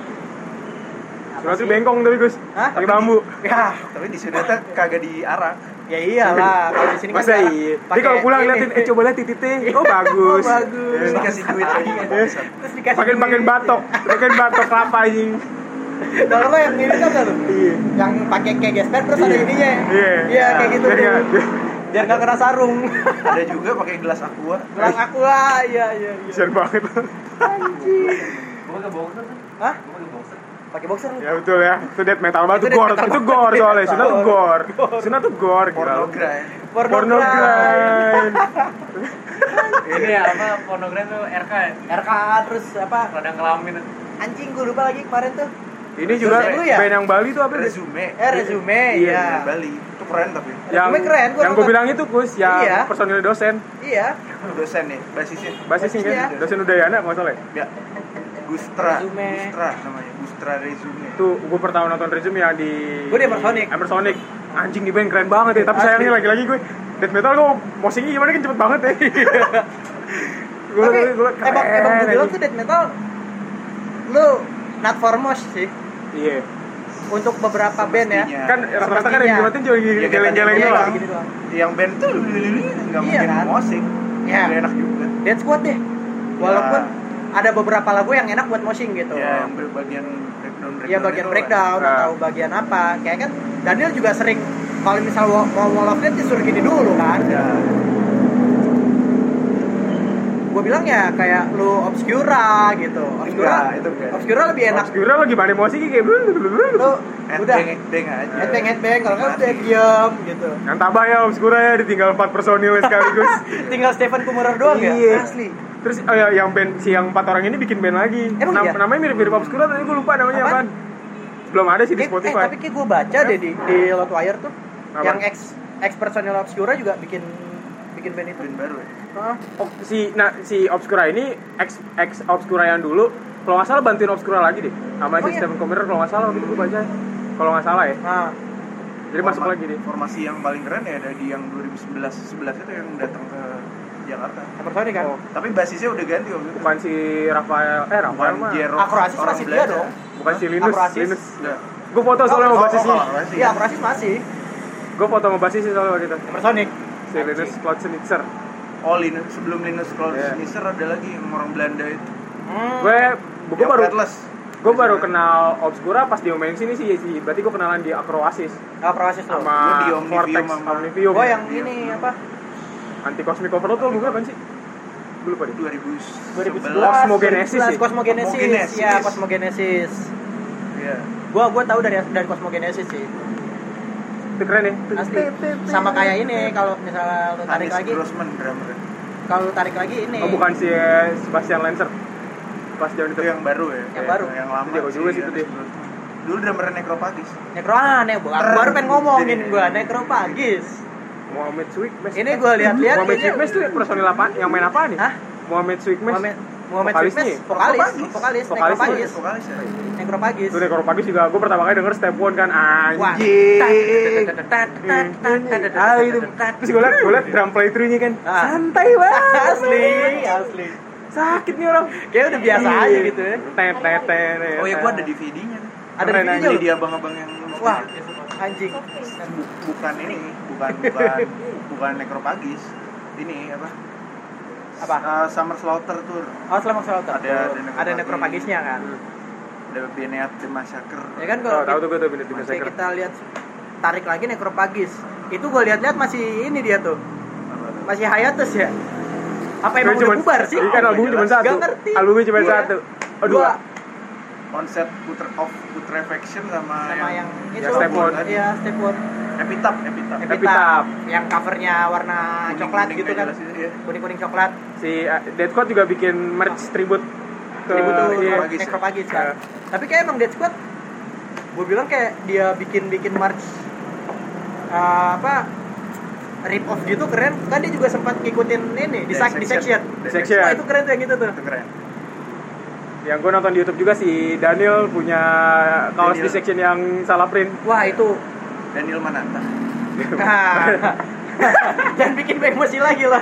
Sunat tuh bengkong tapi Gus. Hah? Pakai bambu. Ya, Tapi disunatnya kagak diarak. ya iyalah. Kalau di sini kan Masa jarang iya? pakai Dia kalau pulang ini. liatin, coba lihat titiknya. Oh bagus. Oh, bagus. Terus dikasih duit lagi kan. Terus dikasih Pakai batok, pakai batok kelapa anjing. Kalau lo yang ini kan tuh. Iya. Yang pakai kayak gesper terus ada ininya. Iya. Iya, kayak gitu Biar tuh. nggak- Biar enggak kena sarung. Ada juga pakai gelas aqua. Gelang aku lah, iya. Kasian banget. Anjing. Gue pakai boxer kan? Hah? Gue pakai boxer. Pakai boxer lu? Ya betul ya. Itu death metal banget Itu tuh gore. death metal Itu banget. gore soalnya. Sunat tuh gore. Gore. Sunat tuh gore. gila. Pornogram. Pornogram. Ini ya apa pornogram tuh RK ya? RK terus apa? Radang kelamin. Anjing gue lupa lagi kemarin tuh. Ini juga Itu ya? band yang Bali tuh apa sih? Resume. Resume Iya, ya. Bali. Itu keren tapi. Yang Resume keren, gua yang gue nonton. bilang itu Gus, yang Iya. personil dosen. Iya. Dosen nih, basisnya. Basisnya Basisnya. kan dosen Udayana kalau nggak salah ya. Ya. Gustra. Resume. Gustra namanya. Gustra Resume. Tuh gue pertama nonton resume yang di Gua di Emersonic. Emersonic. Anjing di band keren banget ya, tapi Asli. sayangnya lagi-lagi gue death metal gue mosingnya gimana kan cepet banget ya. Tapi Gue emang gue bilang tuh death metal lu not for mosh sih iya. untuk beberapa band ya. Semestinya. Kan rata-rata kan yang dimatiin cuma Iya, geleng-geleng iya, doang. Gini doang. Yang band tuh nggak Iya, mungkin kan? musik. Iya. Nggak enak juga. Dead Squad deh. Walaupun ada beberapa lagu yang enak buat moshing gitu. Ya, yang bagian breakdown. Iya bagian itu breakdown Nah. atau bagian apa. Kayak kan Daniel juga sering kalau misal mau Wall of Death disuruh gini dulu kan. Ya. Gue bilang ya kayak lu Obscura gitu. Enggak, itu enggak. Obscura lebih enak. Obscura lo gimana emosi kayak Lu udah Headbang aja. headbang kalau kan udah diam gitu. yang tabah ya Obscura ya ditinggal 4 personil sekaligus. Tinggal Stephen Kummerer doang Iya. ya. Asli. Terus ya, yang band si yang 4 orang ini bikin band lagi. Emang iya? Namanya mirip-mirip Obscura tapi gue lupa namanya Apaan? apaan. Belum ada sih di Spotify. Tapi kayak gue baca deh di Loudwire tuh. Apa? Yang ex personil Obscura juga bikin band itu. Band baru ya. Heeh. Oh, si Obscura ini ex Obscura yang dulu kalau nggak salah bantuin Obscura lagi deh sama Oh, si iya? Stephen Kummerer kalau nggak salah waktu itu gue baca kalau nggak salah ya. Nah, Jadi masuk lagi nih. Formasi yang paling keren ya ada di yang 2011 itu yang datang ke Jakarta. Hypersonic kan? Tapi basisnya udah ganti waktu itu. Bukan si Rafael Bukan mah. Jero. Acroasis orang masih dia Belanda. dong. Bukan si Linus. Acroasis. Linus. Enggak. Gue foto soalnya sama basisnya. Iya, Acroasis masih. Gue foto sama basisnya soalnya waktu itu. Hypersonic. Si Linus Klotzenitzer. Oh, Linus sebelum Linus Klaus Iya. Nisser ada lagi yang orang Belanda itu. Gue Yang baru Atlas. gue baru kenal Obscura pas dia main sini sih. Berarti gue kenalan di Acroasis Acroasis tuh. sama Gua di Omnivium Vortex sama- Omnivium. Gue yang ini apa? Anti Cosmic Overload tuh bukan sih? Gue lupa deh. 2011. Cosmogenesis sih. Cosmogenesis. Ya, Cosmogenesis. Iya. Gua tahu dari Cosmogenesis sih. Itu keren ya. Asli. Sama kayak ini kalau misalnya lu tarik Hannes lagi, Grossman drummer. kalau lu tarik lagi ini. Oh bukan si Sebastian Lancer. Pas zaman Itu itu. yang baru ya. Yang baru. Yang lama. Jago juga sih itu dia. Dulu drummer Necrophagus. Baru pengen ngomongin gua Necrophagus. Muhammad Sweetmesh. Ini gua lihat-lihat Muhammad kayaknya- Sweetmesh tuh personil apa? Yang main apa nih? Hah? Muhammad Sweetmesh. Muhammad Vokalisnya Sweetmesh, ya? vokalis Necrophagus. Vokalis ya. Necrophagus. Itu Necrophagus juga gue pertama kali denger Step One kan Wah. anjing. Terus gue liat drum playthrough-nya kan Ah. santai banget. Asli. Sakit nih orang. Kayak udah biasa Iya. aja gitu ya. Tet. Oh ya, gua ada DVD-nya. Ada Keren DVD-nya Beli loh. di abang-abang yang Wah, anjing. bukan ini, bukan Necrophagus. Ini apa? Apa? Summer Slaughter Tour. Oh, selama Slaughter. Ada Necrophagus-nya kan. Ada Beneat The Massacre. Ya kan Oh, tahu kalau tuh gue tuh bener di masih Massacre. kita lihat tarik lagi Necrophagus. Itu gue lihat-lihat masih ini dia tuh. Masih hiatus ya. Apa emang udah bubar sih? Iya kan albumnya cuma satu. Gak ngerti. Albumnya cuma Iya. satu. Oh dua. Konsep Putrefaction sama Yang itu Step One. Iya, Step One. Epitaph. Epitaph. Yang covernya warna coklat Kuning-kuning gitu nggak kan. jelas itu, iya. Kuning-kuning coklat. Si Dead Squad juga bikin merch tribute ke Tribute tuh iya. Necrophagus kan. Iya. Tapi kayak emang Dead Squad gue bilang kayak dia bikin merch rip off gitu keren. Kan dia juga sempat ngikutin ini di section. Section. Wah, itu keren tuh yang gitu tuh. Itu keren. Yang gue nonton di YouTube juga si Daniel punya kaos Daniel. di section yang salah print. Wah, itu Daniel Mananta. jangan bikin gue emosi lagi loh.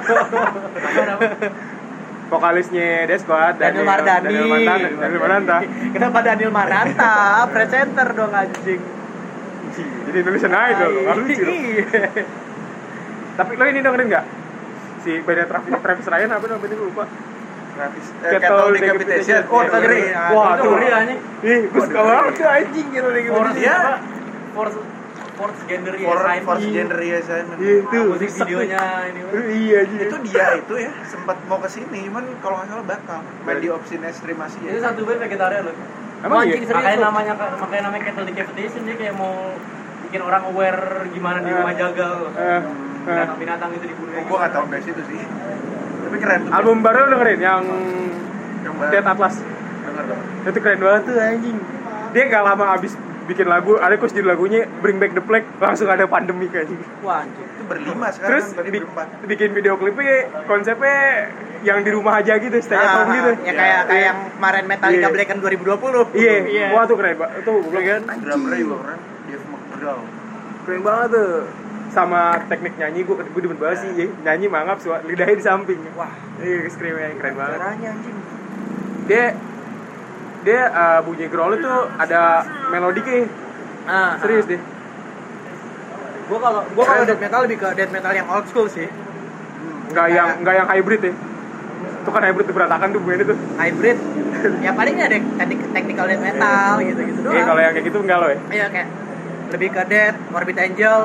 Vokalisnya Dead Squad Daniel Mardani. Daniel Mananta. Kenapa Daniel Maranta? Presenter dong anjing. Jadi Indonesian Idol, nggak lucu dong. Iya. Tapi lo ini dengerin nggak? Si bandnya Travis Ryan apa namanya gue lupa. Cattle Decapitation. Oh, Iya, dengerin. iya. Wah, itu tuh. ngeri anjing. Ih, gue suka banget tuh anjing gitu lagi. Iya. Force Gender Force Gender Assignment. Itu. musik videonya ini. Iya anjing. Itu dia itu ya sempat mau ke sini, cuman kalau nggak salah batal. Main di opsi streamasi Itu ya. satu band vegetarian loh. Emang Anjing, iya? serius Makanya lu? namanya Cattle Decapitation, dia kayak mau bikin orang aware gimana di rumah jagal. Binatang-binatang itu dibunuh. Gua nggak tahu guys itu sih. Tapi keren tuh. Album baru lo dengerin yang baru. Dead Atlas. Denger dong. Itu keren banget tuh anjing. Dia gak lama abis bikin lagu, ada kos judul lagunya Bring Back the Plague, langsung ada pandemi kayak gitu. Wah, anjing. Itu berlima sekarang. Terus tadi berempat. bikin video klipnya konsepnya yang di rumah aja gitu, stay at home gitu. Ya kayak Iya. yang kemarin Metallica Iya. Black and 2020. Iya. Wah tuh keren banget. Tuh gue bilang kan Drummernya juga keren. Dave McGraw. keren banget tuh. Sama teknik nyanyi gue demen banget sih. Nyanyi mangap, lidahnya di samping. Wah, Iya, screamnya keren banget. caranya anjing. Dia bunyi growl itu ada melodiknya. Serius deh. Gua kalau death metal lebih ke death metal yang old school sih. Enggak yang hybrid ya. Itu kan hybrid tuh berantakan tuh bunyinya tuh. Hybrid. Ya palingnya ada technical death metal gitu-gitu doang. Iya, kalau yang kayak gitu enggak lo ya. Iya kayak lebih ke Death, Morbid Angel,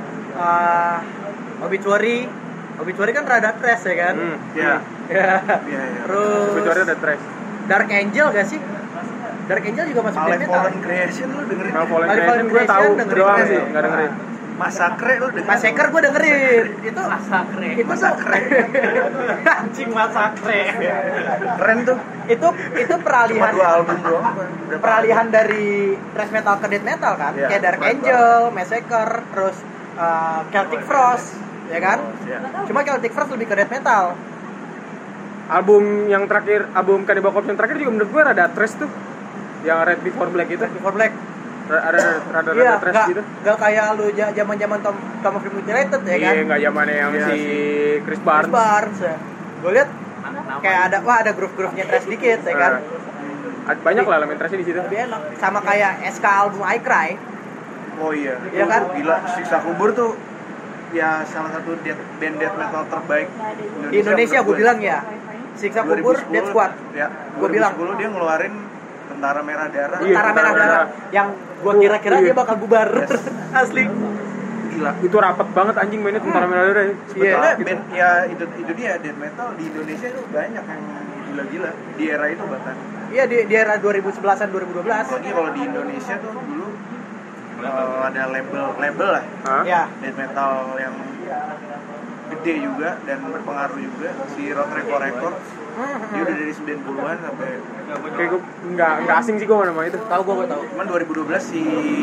Obituary kan rada thrash ya kan? Iya. Ya. Iya. Terus Kecuali ada trash. Dark Angel gak sih? Dark Angel juga masuk death metal. Fallen Creation lu dengerin? Kalau Fallen Fallen Creation gue tahu dengerin doang keren sih, tuh. enggak dengerin. Massacre lu dengerin? Massacre gue dengerin. Itu Massacre. itu Massacre. anjing Massacre. Keren tuh. Itu Cuma peralihan 2 album doang. Berapa? peralihan dari thrash metal ke death metal kan? Iya, Kayak Dark keren Angel, Massacre, terus Celtic Frost, ya kan? Iya. Cuma Celtic Frost lebih ke death metal. Album yang terakhir, album Cannibal Corpse yang terakhir juga menurut gue rada trash tuh. Yang Red Before Black itu. Before Black. Rada Iya, trash gitu. Gak kayak lu zaman-zaman Tom of the Mutilated ya kan? Iya, enggak zamannya yang si Chris Barnes. Ya. Gue lihat kayak ada groove-groove-nya trash dikit ya kan? Banyak lah elemen trashnya di situ. Lebih enak. Sama kayak SK album I Cry. Oh iya. Iya kan? Gila, Siksa Kubur tuh ya salah satu band death metal terbaik Di Indonesia gue bilang ya. Siksa Kubur, 2010, Death Squad. Ya, Gue bilang 2010 dia ngeluarin Tentara Merah Darah. Iya, Tentara Merah Darah yang gue kira-kira dia bakal bubar. Yes. Asli. Gila. Itu rapet banget anjing mainnya Tentara Merah Darah. Sebetulnya band ya itu dia death metal di Indonesia itu banyak yang gila-gila di era itu bahkan. Iya di era 2011-an 2012. Apalagi kalau di Indonesia tuh dulu ada label lah. Ya. Death metal yang gede juga dan berpengaruh juga si Road Record Records. Dia udah dari 90-an sampai Kayak gue nggak asing sih gue nama itu. Tahu gue tahu. cuman 2012 si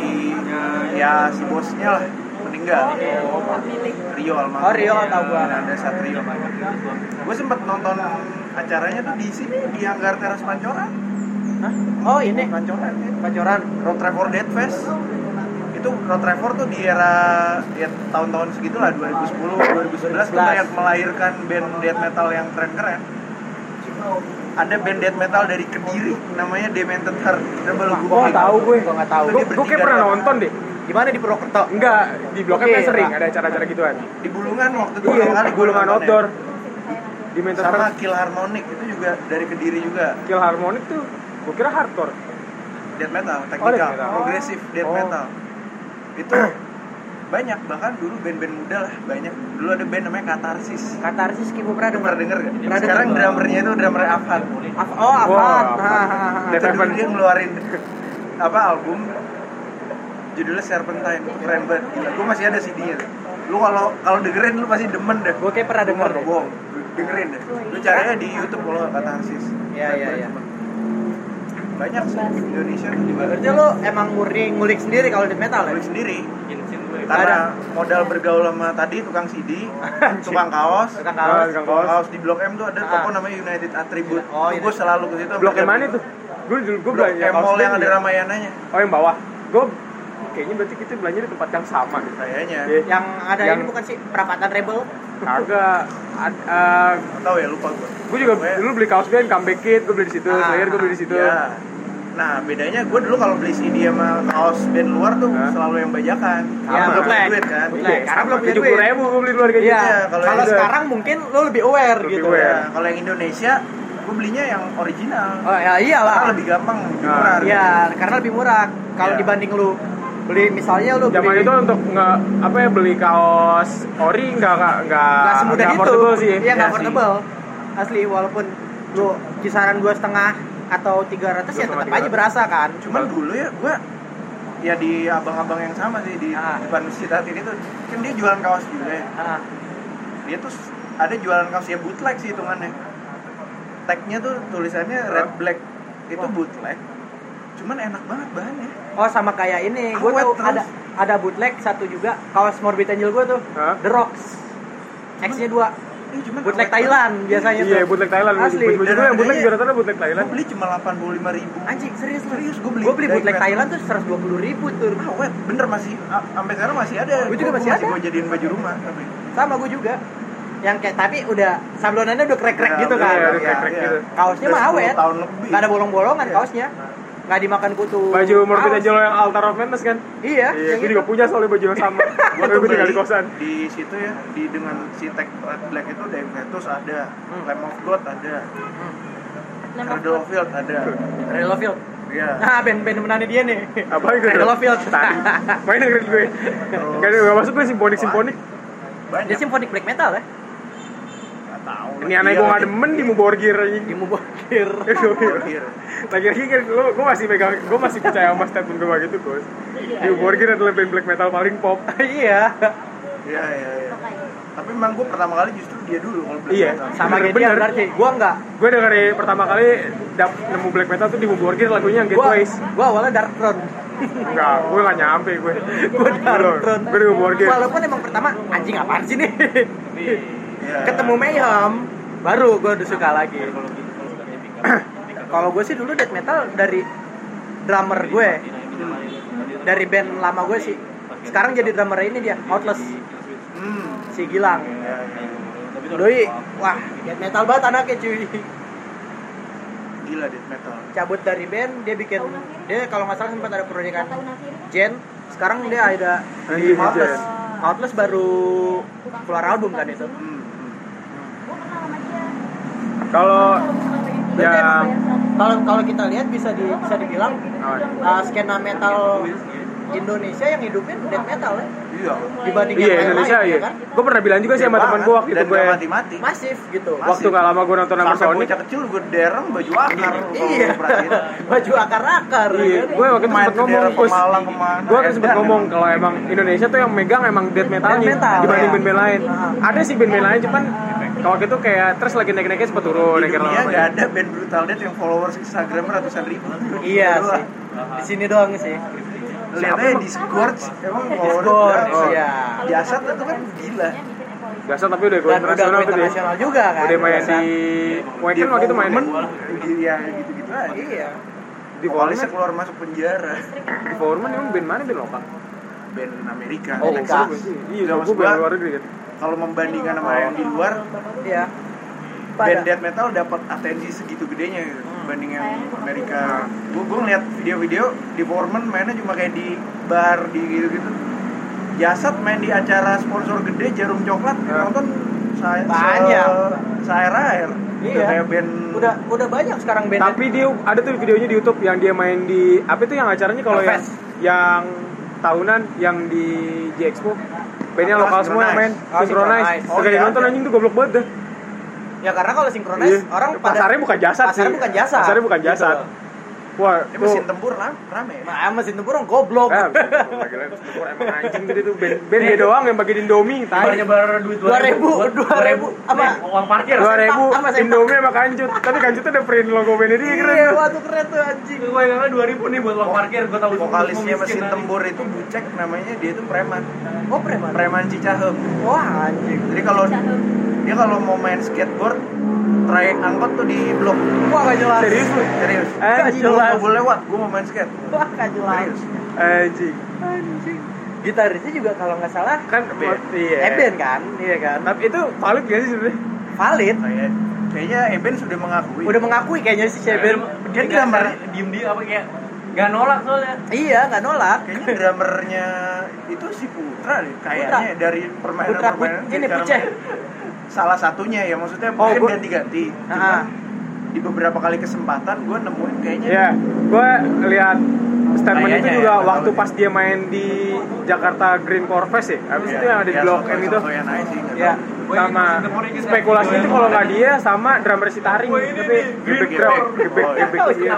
bosnya lah meninggal. Rio Almarhum. Oh, Rio tahu gua. Ada Satrio. Gue sempet nonton acaranya tuh di sini di Anggar Teras Pancoran. Hah? Oh ini Pancoran ya. Pancoran. Road Trevor Death Fest. Itu Road Trevor tuh di era ya, tahun-tahun segitulah 2010 2011 tuh kayak melahirkan band death metal yang keren-keren. Ada band death metal dari Kediri namanya Demented Heart. Coba lu Oh, tahu gue. Gue nggak tahu. Gue kayak pernah nonton deh. Gimana di Purwokerto? Enggak, di Blok M Oke, kan sering Pak. ada acara-acara gituan. di Bulungan waktu itu Iya, pertama kali Bulungan nonton outdoor. ya. Di Mental Sama Kill Harmonic itu juga dari Kediri juga. Kill Harmonic tuh gue kira hardcore. Death metal, death technical, metal. progressive death Oh. metal. Itu banyak, bahkan dulu band-band muda lah banyak. Dulu ada band namanya Katarsis. Katarsis Kimu pernah Pernah denger gak? Pernah Sekarang denger. drummernya itu drummer Afhan. Oh, apa? Wah, Itu Death dulu Heaven. dia ngeluarin album judulnya Serpentine. Keren banget. Gila. Gue masih ada CD-nya. Lu kalau dengerin lu pasti demen deh. Gue kayak pernah denger Gua deh. nggak bohong. Dengerin deh. Lu carinya di YouTube kalau Katarsis. Iya. Banyak sih di Indonesia tuh juga. Berarti lo emang murni ngulik sendiri kalau death metal ya? Nulis sendiri. Nggak Karena modal bergaul sama tadi tukang CD, tukang kaos, Tukang kaos. Tukang tukang kaos. kaos di Blok M tuh ada toko namanya United Attribute. Oh, Gue selalu ke situ. Blok yang mana tuh? Gue Blok belanja M Mall yang ada Ramayananya. Oh, yang bawah. Gue kayaknya berarti kita belanja di tempat yang sama gitu. Kayaknya. Iya. Yang ada Yang- ini bukan sih perapatan rebel? Kagak. Nggak tahu ya, lupa gue. Gue juga dulu beli kaos band Comeback Kid, gue beli di situ. Slayer gue beli di situ. Iya. Nah, bedanya gue dulu kalau beli CD sama kaos band luar tuh selalu yang bajakan. Ya, Belum punya bootleg. duit kan. Bootleg. Iya, Karena belum punya 70.000 gue beli luar kayak Iya. gitu. kalau Kalau itu- sekarang mungkin lo lebih aware Lebih gitu. aware. Ya, kalau yang Indonesia gue belinya yang original. Oh ya iyalah. Karena lebih gampang, lebih Nah, murah. Iya, karena lebih murah. Kalau Iya. dibanding lu beli misalnya lu Zaman beli itu untuk beli kaos ori nggak semudah itu. affordable sih. Iya, nggak Iya sih. affordable. Asli walaupun lu kisaran 2,5 atau 300 ya tetap aja berasa kan. Cuman dulu ya gue ya di abang-abang yang sama sih di depan Masjid Atin itu kan dia jualan kaos juga ya. Ah, Dia tuh ada jualan kaos ya bootleg sih hitungannya. Tagnya tuh tulisannya red black itu bootleg. Cuman enak banget bahannya. oh sama kayak ini, gue Awet tahu terus. ada bootleg satu juga kaos Morbid Angel gue tuh, Hah? The Rocks. X-nya 2. Cuman Bootleg awet Thailand biasanya tuh. Iya, bootleg Thailand. Asli. Baju gue yang bootleg Dan juga rata-rata bootleg banget. Thailand. Gue beli cuma 85.000. Anjing serius lu? Serius, gua beli Gue beli dari bootleg Thailand. Thailand tuh 120.000 tuh. Awet, bener masih sampai sekarang masih ada. Gua juga masih ada. Gue jadiin baju rumah tapi. Sama gue juga. Yang kayak tapi udah sablonannya udah krek-krek Ya, gitu udah, kan. iya, ya, krek-krek ya. gitu. Kaosnya Udah mah 10 awet. tahun lebih. Nggak ada bolong-bolongan Iya. kaosnya. Nggak dimakan kutu. Baju Morbid kaos. Angel yang Altar of Madness kan? Iya, Iya, yang gue itu. juga punya soalnya baju yang sama. Gue tuh Gue tinggal di beli kosan. di situ ya, di dengan si tag red black itu Demetus ada, Lamb of God ada, Cradle of Field ada. Cradle of Field. Iya. Nah, band-band menannya dia nih. Apa itu? Cradle of Field. Tadi. Main dengerin gue. Gak masuk gue simponik. Banyak. Dia symphonic black metal ya? Nggak tahu. Ini aneh gue gak demen di Muborgir aja. Di Mubokir. Iya. Lagi-lagi kan gue masih percaya sama statement gue gitu, Gus. Di Muborgir adalah band black metal paling pop. Iya. Iya. Tapi memang gue pertama kali justru dia dulu kalau black Iya. metal. Sama kayak dia Bener. berarti. Gua enggak. Gue dari pertama kali nemu black metal tuh di Muborgir lagunya yang Gateways. Gua awalnya Dark Throne. Enggak, gue gak nyampe gue. Gua Dark Throne. Gue di Muborgir. Walaupun emang pertama anjing apaan sih nih? Iya. Ketemu Mayhem baru gua udah suka lagi. Kalau gue sih dulu death metal dari drummer gue. dari band lama gue sih. Sekarang jadi drummer ini dia, Outless. Si Gilang. Doi, wah, death metal banget anaknya cuy. Gila death metal. Cabut dari band, dia kalau nggak salah sempat ada proyekan Jen. Sekarang dia ada di Outless. Outless baru keluar album kan itu. Kalau yang Kalau kita lihat bisa dibilang skena metal Indonesia yang hidupin death metal ya. Iya. Dibanding iya yang Indonesia lain, iya. kan? Gue pernah bilang juga sih sama teman gue waktu itu dan gue gak mati-mati. Masif gitu. waktu nggak lama gue nonton Number Sampai Sonic. bocah kecil gue dereng baju akar. Iya. Baju akar-akar. Iya, kan? gue waktu itu Main sempat ke ngomong, daerah Kus. Pemalang kemana, Gue kan sempat edan ngomong emang. kalau emang Indonesia tuh yang megang emang death metalnya Death metal, dibanding ya. band-band lain. Ada sih band-band lain, cuman kalau gitu kayak terus lagi naik-naiknya sempat turun. Di naik dunia lama-lama. gak ada band brutal death yang followers Instagram ratusan ribu. Iya Doang. sih. Di sini doang sih. Lihat aja di Scorch emang Discord, follower iya. Jasad itu kan gila. Biasa tapi udah gue Dan udah internasional tuh dia. internasional juga kan. Udah main Biasa. di Wacken waktu itu main Iya gitu-gitu aja. Iya. di Vokalisnya Foreman. keluar masuk penjara. Di Foreman emang band mana band lokal? Band Amerika. Oh, Amerika. Iya, Udah, gue maksud band gua, luar negeri kan. Kalau membandingkan sama yang di luar, Iya. band death metal dapat atensi segitu gedenya gitu, dibanding yang Amerika. Gue ngeliat video-video di Foreman mainnya cuma kayak di bar di gitu-gitu. Jasad main di acara sponsor gede Jarum Coklat nonton Banyak. Air. Iya. Kayak band Udah banyak sekarang band. Tapi dia ada tuh videonya di YouTube yang dia main di apa itu yang acaranya kalau yang, Hellfest. yang tahunan yang di J Expo. Bandnya Apa, lokal semua yang main Oh, Synchronize. Synchronize. Oh, Kagak iya, nonton ada. anjing tuh goblok banget dah. Ya karena kalau sinkronis Iya. orang pada Pasarnya bukan jasad sih. Pasarnya bukan jasad. Pasarnya bukan jasad. Wah, ini mesin tempur rame ya. mesin tempur orang goblok. Gila, emang anjing gitu tuh band dia doang yang bagiin Indomie, tai. Nyebar duit 2000 apa uang parkir. 2000 sama sempak. Indomie sama kancut. Tapi kancutnya ada print logo bandnya dia keren. Iya, tuh. waduh keren tuh anjing. Gue ingatnya 2000 nih buat uang parkir. Gue tahu Vokalisnya mesin tempur itu Bucek namanya, dia itu preman. Oh, Preman Cicahem. Wah, anjing. Jadi kalau dia kalau mau main skateboard, trayek angkot tuh di blok. Wah, gak jelas. Serius lu? Serius. Anjing. Lu nggak boleh lewat, gue mau main skate. Wah, gak jelas. Serius. Anjing. Gitarisnya juga kalau nggak salah Kan iya. Eben kan? Iya kan? Tapi itu valid gak sih sebenarnya? Valid. Kayaknya Eben sudah mengakui. Udah mengakui kayaknya si Eben. Dia drummer. diem apa kayak nggak nolak soalnya. Iya, nggak nolak. Kayaknya drummernya itu si Putra deh. Kayaknya dari Putra ini Puceh. Salah satunya ya, maksudnya Oh, mungkin gua- ganti-ganti. Ah. Cuman di beberapa kali kesempatan gue nemuin kayaknya Iya, gue lihat statement itu Kayaknya juga ya, waktu tahu pas dia main di Jakarta Green Core Fest ya. Habis itu yang ada di Blok M itu. Ya. Sama spekulasi itu kalau nggak dia sama drummer si Taring tapi gebek drum, gebek Oh, iya. gebek iya.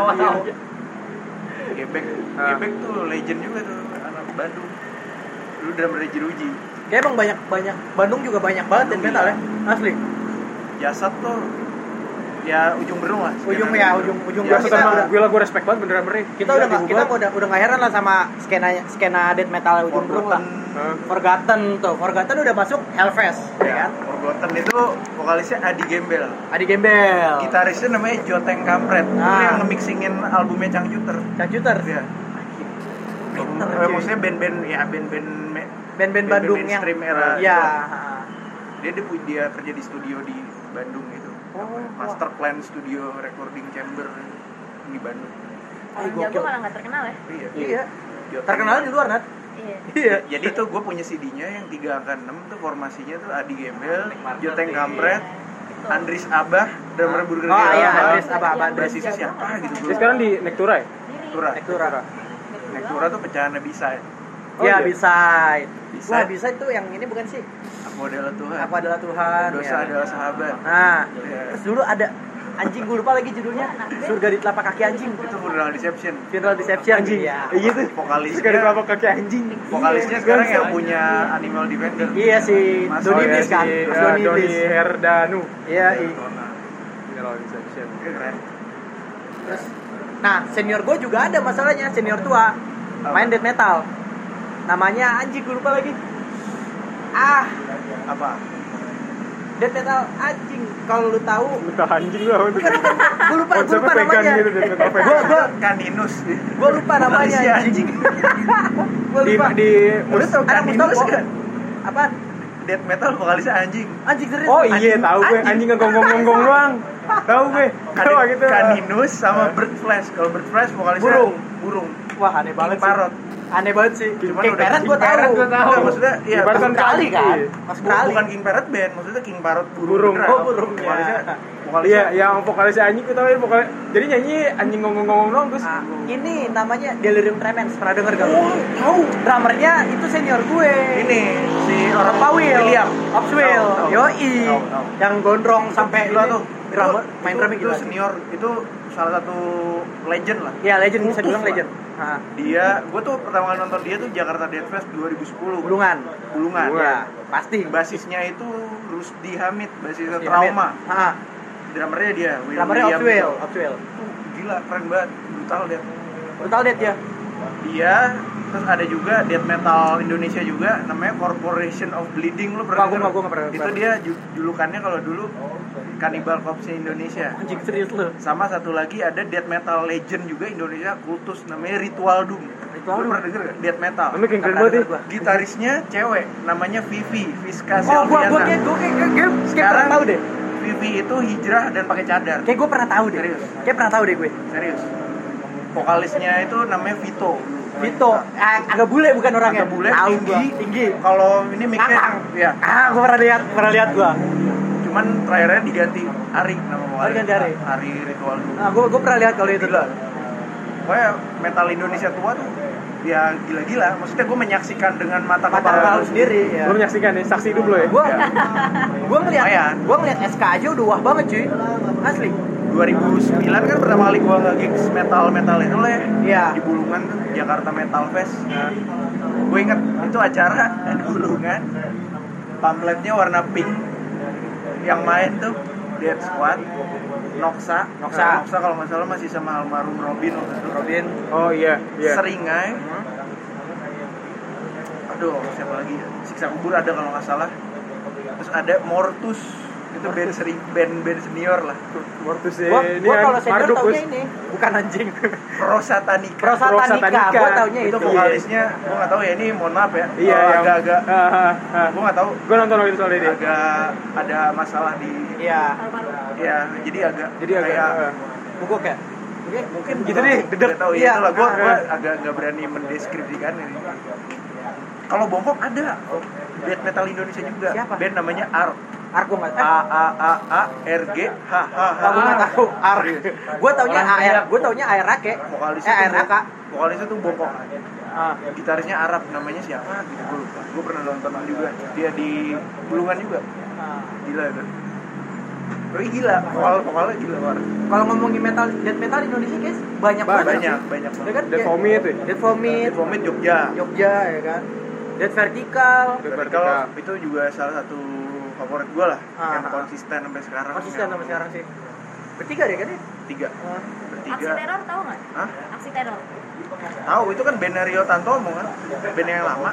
Gebek. Ah. Gebek tuh legend juga tuh anak Bandung. Dulu drummer Jeruji. Kayak emang banyak Bandung juga banyak banget death metal ya. Asli. Jasad tuh ya ujung berung lah. Ujung ya, ujung Gue kita sama udah- gue gue respect banget bener drummernya. Kita udah nggak heran lah sama skena death metal ujung berung lah. Forgotten udah masuk Hellfest, ya kan? Forgotten itu vokalisnya Adi Gembel. Adi Gembel. Gitarisnya namanya Joteng Kampret. Itu Ah. yang nge-mixingin albumnya Cangcuter. Cangcuter. Iya. Pinter, cuy. Maksudnya band-band Band-band Bandung yang mainstream era. ya. Dia kerja di studio di Bandung gitu. Oh, Master Plan Studio Recording Chamber di Bandung. Orang Jago malah nggak terkenal ya. Iya. Joteng. Terkenal di luar, Nat. Iya. Iya. Jadi tuh gue punya CD-nya yang 3 angka 6 tuh formasinya tuh Adi Gembel, Joteng Kampret, Andris Abah, drummer Burger Oh iya, Gila. Andres apa Basisnya siapa gitu Dia gue. sekarang di Nektura ya? Nektura. Nektura tuh pecahannya bisa. Oh, Ya, iya. bisa. Bisa. Wah, bisa itu yang ini bukan sih? Aku adalah Tuhan. Aku adalah Tuhan. Dosa ya. adalah sahabat. Nah, Ya. terus dulu ada anjing gue lupa lagi judulnya. Surga di telapak kaki anjing. Itu Funeral Deception. Funeral Deception. Anjing. Iya. Gitu. Vokalisnya- Sekali kelapa kaki anjing. Vokalisnya sekarang yang punya Animal Defender. Iya si Mas Doni Doni Iblis kan. Mas Doni Doni Iblis. Herdanu. Iya, iya. Keren. Terus nah, senior gue juga ada masalahnya, senior tua. Main death metal. Namanya anjing gue lupa lagi. Apa? Death metal anjing. Kalau lu tahu, Entah anjing lah. gue lupa Konsepnya vegan namanya. gitu, death metal vegan. Gua Kaninus. gue lupa namanya Malaysia, anjing. Gue Di lupa. Lu tau Anak Kaninus Mustafa. kan? Apaan? Death metal vokalisnya anjing. Anjing serius. Oh iya, tahu gue anjing ngegonggong-gonggong doang. Tahu gue. Tahu gitu. Kaninus sama Bird Flash. Kalau Bird Flash vokalisnya burung. Wah, aneh banget King Parrot. Aneh banget sih. Cuman King udah Parrot King gue tahu. Parrot gua tahu. Enggak, maksudnya ya Ibaratkan Australia kan? Iya. Australia. bukan King Parrot band, maksudnya King Parrot Burung. beneran. Oh, burung, ya. Vokalisnya Iya, yang vokalisnya anjing gue tahu vokal. Jadi nyanyi anjing ngomong-ngomong doang terus. Ah, ini namanya Delirium Tremens. Pernah denger gak? tahu. Drummernya itu senior gue. Ini si orang Pawil, William. Opswell, Tahu. yoi, Tahu. yang gondrong sampai gila tuh. drummer, main drumnya itu gila. senior, itu salah satu legend lah. Iya, legend bisa Kultus dibilang lah. legend. Nah, Dia, gue tuh pertama kali nonton dia tuh Jakarta Death Fest 2010. Bulungan. Bulungan. Ya, pasti. Basisnya itu Rusdi Hamid, basisnya Iya, Trauma. Heeh. Drummernya dia, Drummernya William Opswell, gitu. Opswell. Tuh, gila, keren banget, brutal dia. Brutal Death ya. Dia, terus ada juga death metal Indonesia juga, namanya Corporation of Bleeding. Lu pernah Wah, gua denger? nggak pernah. Itu dia julukannya kalau dulu Cannibal Corpse Indonesia. Anjing serius lu. Sama satu lagi ada death metal legend juga Indonesia, kultus, namanya Ritual Doom. Ritual Lu Doom. pernah denger gak? Death metal. Namanya kayak keren Nggak banget pernah ya. denger gua. Gitarisnya cewek, namanya Vivi, Viska Oh, gua Selviana. kayak Sekarang pernah tahu deh. Vivi itu hijrah dan pakai cadar. Kayak gue pernah tahu deh. Serius? Kayak pernah tahu deh gue. Serius. Vokalisnya itu namanya Vito. Vito, agak bule bukan orangnya. Agak bule, Tahu tinggi. gua, tinggi. Kalau ini mic-nya Ngakang. ya, Gue pernah lihat gua. cuman terakhirnya diganti Ari nama vokalis. Diganti Ari. Ari Ritual Doom. Nah, gue pernah lihat kalau itu Gila. tuh. Pokoknya metal Indonesia tua tuh ya gila-gila. Maksudnya gue menyaksikan dengan mata Mata kepala kepala lu sendiri ya. Lu menyaksikan nih, saksi hidup lo ya. Gua Lumayan. ngeliat SK aja udah wah banget cuy. Asli. 2009 kan pertama kali gue nge-gigs metal itu lah ya. Iya. Di Bulungan tuh, Jakarta Metal Fest. Gue inget itu acara di Bulungan. Pamfletnya warna pink. Yang main tuh Death Squad, Noxa kalau nggak salah masih sama almarhum Robin waktu itu. Robin. Oh iya, iya. Seringai. Aduh, siapa lagi ya? Siksa Kubur ada kalau nggak salah. Terus ada Mortus. Itu band senior lah. Mortus ya. Gua kalau senior Marduk, taunya Bos. ini bukan anjing. Prosatanika. Prosatanika. Gua taunya Itu itu. vokalisnya, gue nggak tahu ya, ini mohon maaf ya. Iya, Kalau yang agak-agak, gue nggak tahu. Gue nonton waktu itu soalnya dia. Agak ada masalah di, Iya. ya jadi agak Jadi agak Bugok ya? Oke. mungkin gitu deh, dedek. Nggak tahu Iya. ya, itulah gue agak nggak berani mendeskripsikan ini. Kalau Bongkok ada death metal Indonesia juga. Siapa? Band namanya ARG. Ark gua enggak ARG. Aku nggak tahu Ark. Gua taunya AR. Gua taunya ARK. Vokalisnya tuh ARK. vokalisnya tuh Bongkok. Ah. Gitarisnya Arab, namanya siapa gitu, gue lupa. Gue pernah nonton juga, dia di Bulungan juga. Gila itu. Tapi gila, vokalnya gila banget. Kalau ngomongin death metal di Indonesia guys, banyak banget. Banyak Ya banget. kan? Dead Vomit ya. Death Vomit, Vomit Jogja. Jogja ya kan. Death Vertical. Vertical itu juga salah satu favorit gue lah, yang konsisten sampai sekarang. Konsisten sampai sekarang sih. Bertiga deh kan ya? Tiga. Aksi Bertiga. teror tahu nggak? Hah? Aksi teror. Tahu itu kan band Rio Tantomo kan, band yang lama.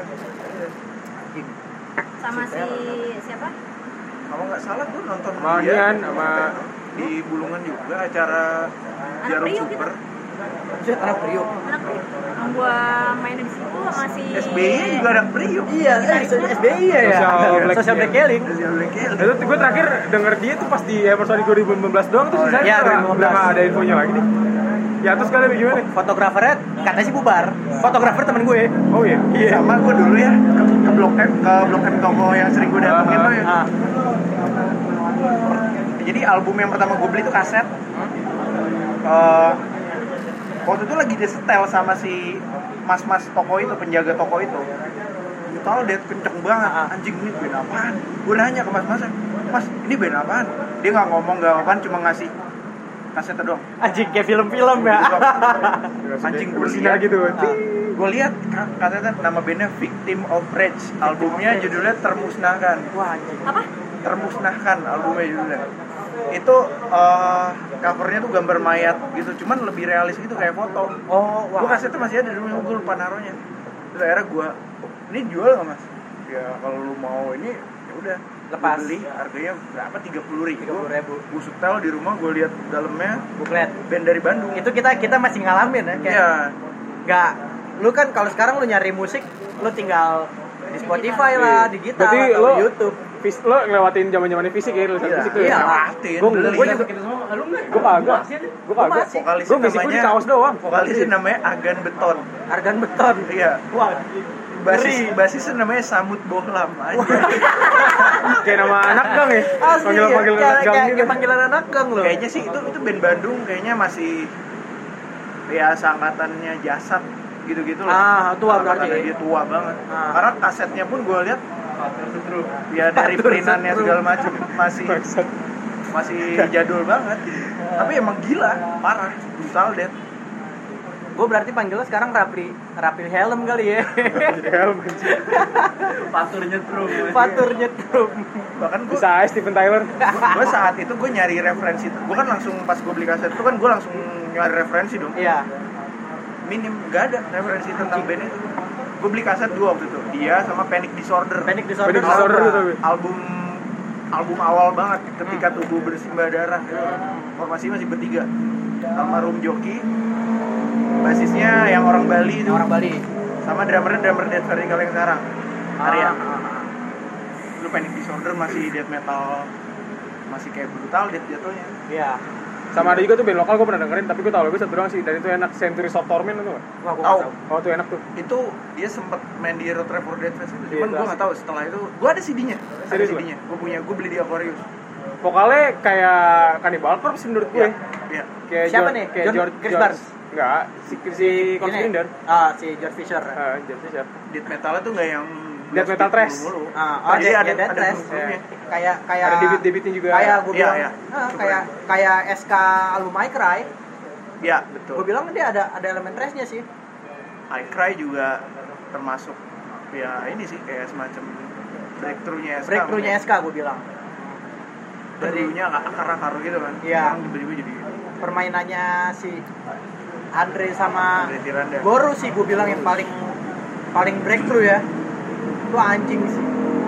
Sama si siapa? Kalau nggak salah tuh nonton Sama dia Ian, sama di Bulungan juga acara Jarum Priok Super. Buset, anak Priok. Anak yang gua main di situ sama si SBY juga ada Priok. Iya, SBI ya. Social Black Killing. Itu gue terakhir denger dia tuh pas di episode 2015 doang tuh sisanya iya, udah 2015. nggak ada infonya lagi nih. Ya terus kalian gimana? Fotografernya katanya sih bubar. Fotografer temen gue. Oh iya. Sama gue dulu ya ke Blok M toko yang sering gue datengin tuh ya. Jadi album yang pertama gue beli itu kaset. Waktu itu lagi disetel sama si mas-mas toko itu, penjaga toko itu. Tahu dia kenceng banget, anjing ini band apaan? Gue nanya ke mas-masnya, mas ini band apaan? Dia nggak ngomong nggak apaan, cuma ngasih kasetnya doang. Anjing kayak film-film ya. Anjing gue bersinar lihat gitu. Gue lihat kasetnya nama bandnya Victim of Rage, albumnya judulnya Termusnahkan. Wah, anjing. apa? Termusnahkan albumnya judulnya. Itu covernya tuh gambar mayat gitu, cuman lebih realis gitu kayak foto. Oh, Gue kasetnya masih ada dulu, gue lupa naruhnya. Terus akhirnya gue, ini jual nggak mas? Ya kalau lu mau ini ya udah. Lepas. Gua beli harganya berapa? 30.000. 30.000. Gue setel di rumah, gue lihat dalamnya Buklet. band dari Bandung. Itu kita masih ngalamin ya kayak. Iya. Nggak, lu kan kalau sekarang lu nyari musik, lu tinggal di Spotify lah, digital Berarti atau lo di YouTube. lo ngelewatin zaman-zamannya fisik ya, rilisan Iya, fisik tuh. iya. lewatin. Gua beli. juga Kita semua lu enggak? Gue kagak. Gue kagak. masih. Vokalisnya Gue fisik gue di namanya kaos doang. Vokalisnya namanya Agan Beton. Argan Beton. Iya. Wah, Basisnya namanya Samut Bohlam aja. Kayak nama anak gang ya. asli ya, Panggil anak gang kayak gitu. panggilan anak gang loh. Kayaknya sih itu band Bandung kayaknya masih ya seangkatannya Jasad gitu-gitu Ah, tua berarti. Angkatannya dia tua banget. Ah. Karena kasetnya pun gue lihat ya dari printannya segala macam masih jadul banget. Tapi emang gila, parah, brutal dead. Gue berarti panggilnya sekarang Rapli Helm kali ya. Patur nyetrum. Fatur nyetrum. Bahkan gue Bisa aja Steven Tyler. saat itu gue nyari referensi. Gue kan langsung pas gue beli kaset itu kan gue langsung nyari referensi dong. Iya. Minim gak ada referensi tentang band itu. Gue beli kaset dua waktu itu, dia sama Panic Disorder. Panic Disorder. Panic Disorder apa? itu. album awal banget ketika tubuh bersimbah darah gitu. Formasi masih bertiga sama Rum Joki, basisnya yang orang Bali itu, Orang Bali. sama drummer Death Vertical yang sekarang Arya. Lu Panic Disorder masih death metal, masih kayak brutal death jatuhnya. Iya. Sama ada juga tuh band lokal gue pernah dengerin, tapi gue tau lagu satu doang sih, dan itu enak, Centuries of Torment itu. Wah, gua Tahu. nggak tahu. Oh tuh enak tuh. Itu dia sempet main di Road Trip for Death Fest itu, Iya, cuman itu gue nggak tahu setelah itu. Gue ada CD-nya, Serius lu? gue beli di Aquarius. Vokalnya kayak Cannibal Corpse menurut gue. Iya. Kayak Siapa George- nih? Kayak John George Chris Barnes? Enggak, si Corpse Ini. Grinder. Si George Fisher. George Fisher. Death metalnya tuh nggak yang Death metal thrash. mulu-mulu. Ada Jadi Death Thrash. groove-groove-nya. Kayak Ada debit-debitnya juga. Kayak gue Iya, bilang, iya. kayak SK album I Cry. Iya, betul. Gue bilang dia ada elemen thrash-nya sih. I Cry juga termasuk ya ini sih kayak semacam breakthrough-nya SK. Breakthrough-nya SK gue bilang. Dulunya akar-akar gitu kan. Iya. Sekarang tiba-tiba jadi Permainannya si Andre sama Andre Tiranda. Boru sih gue bilang yang paling breakthrough ya. Itu anjing sih.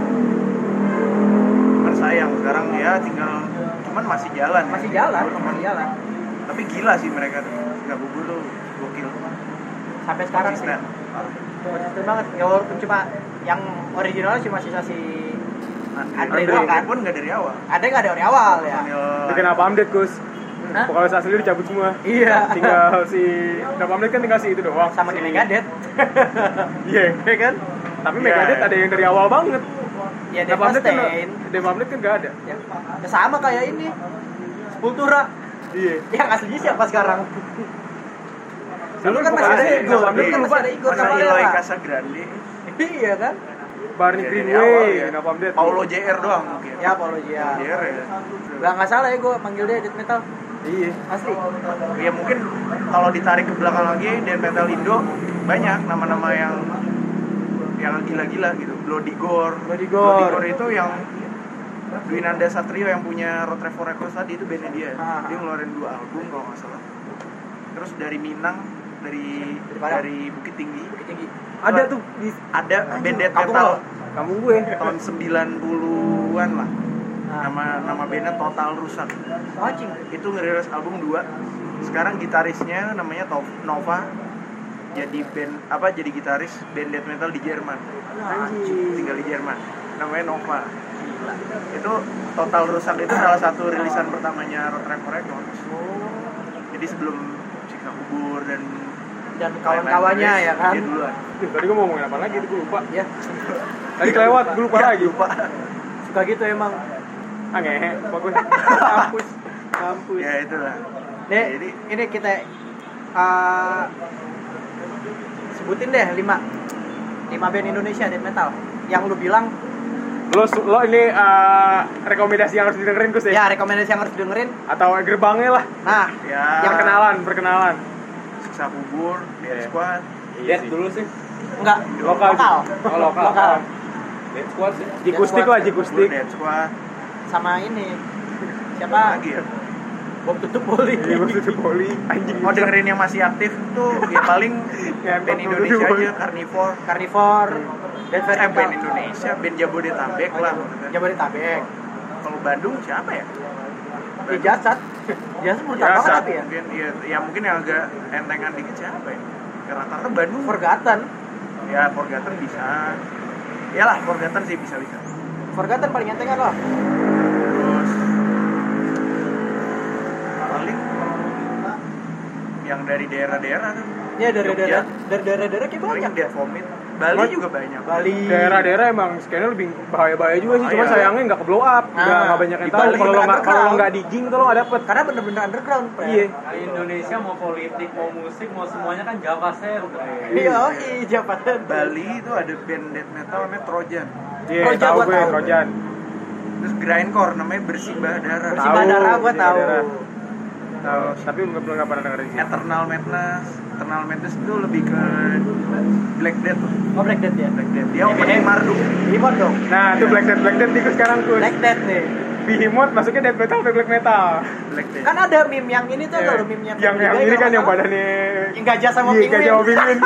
Kan sayang sekarang ya tinggal cuman masih jalan. Masih ya. jalan, Cuman- masih jalan. Tapi gila sih mereka tuh. Nggak gugur tuh gokil. Sampai sekarang sih. Konsisten. Konsisten banget. Ya walaupun cuma yang originalnya cuma sisa si Andre doang kan. pun nggak dari awal. Ada nggak dari awal ya? Bikin apa update Gus? Hah? Vokalis asli dicabut semua. Iya. Tinggal si Dap update kan tinggal si itu doang. Sama si di Megadeth. Iya. Ya kan? Tapi Iya, Megadeth iya. ada yang dari awal banget. Ya Dap update kan Devastating. Dap update kan nggak ada. Ya, ya sama kayak ini. Sepultura. Iya. Yang aslinya siapa sekarang? Dulu kan masih Vokalis ada Igor. Dap Dulu update kan masih ada Igor Masa Cavalera. Eloy Casagrande. Iya kan? Barney Ya, dari Greenway, awal ya. Dap update. Paulo JR doang mungkin. Ya apologia. JR ya. Nggak salah ya gue panggil dia death metal. Iya. Asli. Ya mungkin kalau ditarik ke belakang lagi death metal Indo banyak nama-nama yang gila-gila gitu. Bloody Gore. Bloody Gore. Itu yang Dwinanda Satrio yang punya Road Trip for Records tadi itu bandnya dia. Ah. Dia ngeluarin 2 album kalau nggak salah. Terus dari Minang, dari Padang. Bukit Tinggi. Tinggi. Ada tuh di Ada band death kampung metal lo. kampung gue. tahun 90-an lah. Nah. Nama bandnya Total Rusak. Anjing. Itu ngerilis album 2. Sekarang gitarisnya namanya Nova. Jadi gitaris band death metal di Jerman. Tinggal di Jerman. Namanya Nova. Itu Total Rusak itu salah satu rilisan pertamanya Road Trip for Records. Jadi sebelum Siksa Kubur dan Kawan-kawannya ya kan. Dia duluan. Tadi gue mau ngomongin apa lagi? Gue lupa. Ya. Tadi kelewat, gue lupa lagi. Lupa. Suka gitu emang. Ngehe, lupa gue. Kampus. Kampus. Ya itulah. Nih, Jadi ini kita sebutin deh 5 band Indonesia death metal yang lu bilang Lo ini rekomendasi yang harus didengerin Gus ya? ya rekomendasi yang harus dengerin. Atau gerbangnya lah. Nah, ya yang Perkenalan. Siksa Kubur, Death Iya. Squad. Death dulu sih. enggak Lokal. lokal. Oh, lokal. Death Squad sih. Jikustik lah, Jikustik. Death Squad. Sama ini. Apa Siapa? lagi ya? Bom tutup poli. Iya, bom tutup poli. Anjing. Mau dengerin yang masih aktif tuh ya paling Ya, band bom Indonesia tutup poli. aja, Carnivore. Carnivore. Dan Band Indonesia, band Jabodetabek lah. Jabodetabek. Kalau Bandung siapa ya? Di Jasad. Jasad menurut apa Jasad. tapi ya? Mungkin ya mungkin yang agak entengan dikit siapa ya? Karena rata-rata Bandung. Forgotten. Ya Forgotten bisa. Iyalah Forgotten sih bisa. Forgotten paling entengan loh. Terus paling yang dari daerah-daerah kan. Ya dari Jogja. daerah kayak Paling banyak. Dead Vomit. Bali juga banyak. Bali. Daerah-daerah emang skena lebih bahaya-bahaya juga sih, Oh, cuma iya. sayangnya nggak ke blow up, Nah, nggak banyak yang di tahu. Bali Kalau lo nggak underground. digging tuh lo nggak dapet. Karena bener-bener underground. Pre. Iya. Di Indonesia mau politik, mau musik, mau semuanya kan Java Center. Iya, jabatan. Bali itu ada band death metal namanya Trojan. Iya, Trojan tahu gua gue tahu. Trojan. Terus grindcore namanya Bersibah Darah. Bersih Tahu, Bandara gua Bersih tahu. Bandara. Tahu, tapi belum nggak pernah dengerin sih. Eternal Madness itu lebih ke Black Death. Oh Black Death ya. Black Death. Dia opening Marduk. Limon dong. Nah, itu Black Death ikut sekarang tuh. Black Death nih. Behemoth masuknya death metal atau black metal? Black Death. Kan ada meme yang ini tuh Iya. kalau meme-nya yang ini kan yang badannya yang gajah sama iya, penguin. gajah sama penguin.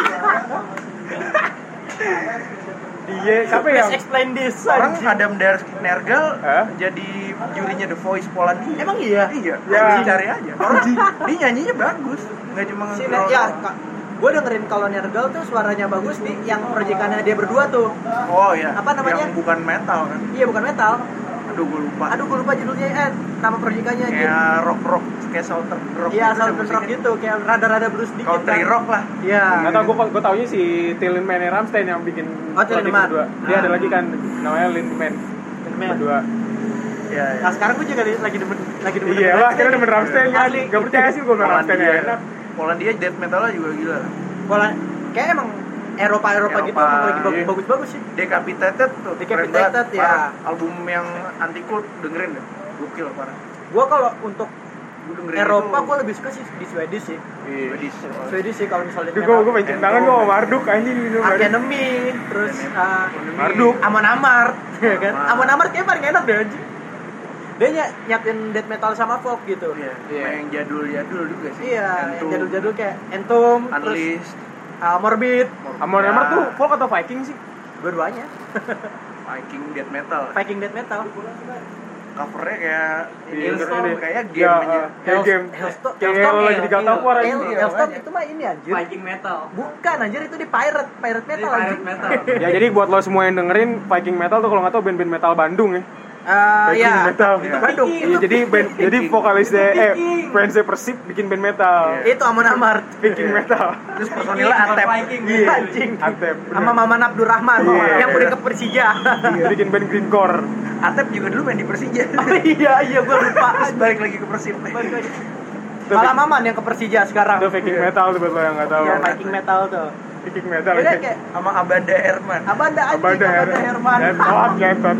Iya, siapa yang Please explain this. Orang anjing. Adam Nergal Hah? jadi jurinya The Voice Polandia. Emang iya? Iya. Ya. Anjing, cari aja. Orang dia nyanyinya bagus, nggak cuma Si nge-growl. ya, gue dengerin kalau Nergal tuh suaranya bagus di yang proyekannya dia berdua tuh. Oh iya. Apa namanya? Yang bukan metal kan? Iya bukan metal. Aduh gue lupa. Aduh gue lupa judulnya nama proyekannya gitu. Kayak rock kayak southern rock. Iya gitu Southern musiknya. rock gitu, kayak rada-rada blues dikit. Country kan. rock lah. Iya. nggak tahu, gue taunya si Tilman Rammstein yang bikin Oh, Till project Lindemann. berdua. Dia Ah. ada lagi kan namanya Lindemann Lindemann. berdua. Iya. Iya. Nah sekarang gue juga lagi demen Iya lah, kita demen Rammstein kan. Asli. Gak percaya sih gue demen Rammstein ya enak. Polandia death metalnya juga gila. Pola kayak emang Eropa gitu Eropa, emang lagi iya. bagus-bagus sih. Decapitated tuh. Decapitated, keren banget. ya. Parah. Album yang anti cult dengerin deh. Gokil parah. Gue kalau untuk Gue dengerin Eropa itu. gue lebih suka sih di Swedish sih. Swedish. Swedish sih kalau misalnya Gue pengen cium tangan gue sama Marduk anjing gitu. Arch Enemy, terus Marduk. Amon Amarth, ya kan? Wah. Amon Amarth kayak paling enak deh anjing. Dia nyatin death metal sama folk gitu. Iya. Iya. Yang jadul-jadul juga sih. Iya, yang Entombed, jadul-jadul kayak Entombed, terus Unleashed. Morbid, Amon Ya. Amarth tuh folk atau Viking sih? dua-duanya. Viking death metal. Viking death metal. Covernya kayak Iya, Hillstorm, ini. kayak game Ya, aja. kayak game. Hellstorm, Kayak lagi di God of War anjing. Hellstorm itu mah ini anjir. Viking metal. Bukan anjir itu di pirate Ini metal pirate anjir. metal. Ya jadi buat lo semua yang dengerin Viking metal tuh kalau nggak tahu band-band metal Bandung ya. Viking Iya, metal. itu Bandung. Iya, jadi vokalisnya fansnya Persib bikin band metal. Itu Amon Amarth. Viking metal. Terus personilnya Atep. Viking. Iya, Anjing. Antep. Sama Maman Abdurrahman Iya. yang udah ke Persija. Iya, bikin band greencore. Atep juga dulu main di Persija. Iya gue lupa. Terus balik lagi ke Persib. Malah Maman yang ke Persija sekarang. Itu Viking metal tuh buat lo yang nggak tahu. Iya, Viking metal tuh. Viking metal. Beda ya. kayak Sama Abanda Herman. Abanda anjing, Abanda Herman. Ngentot.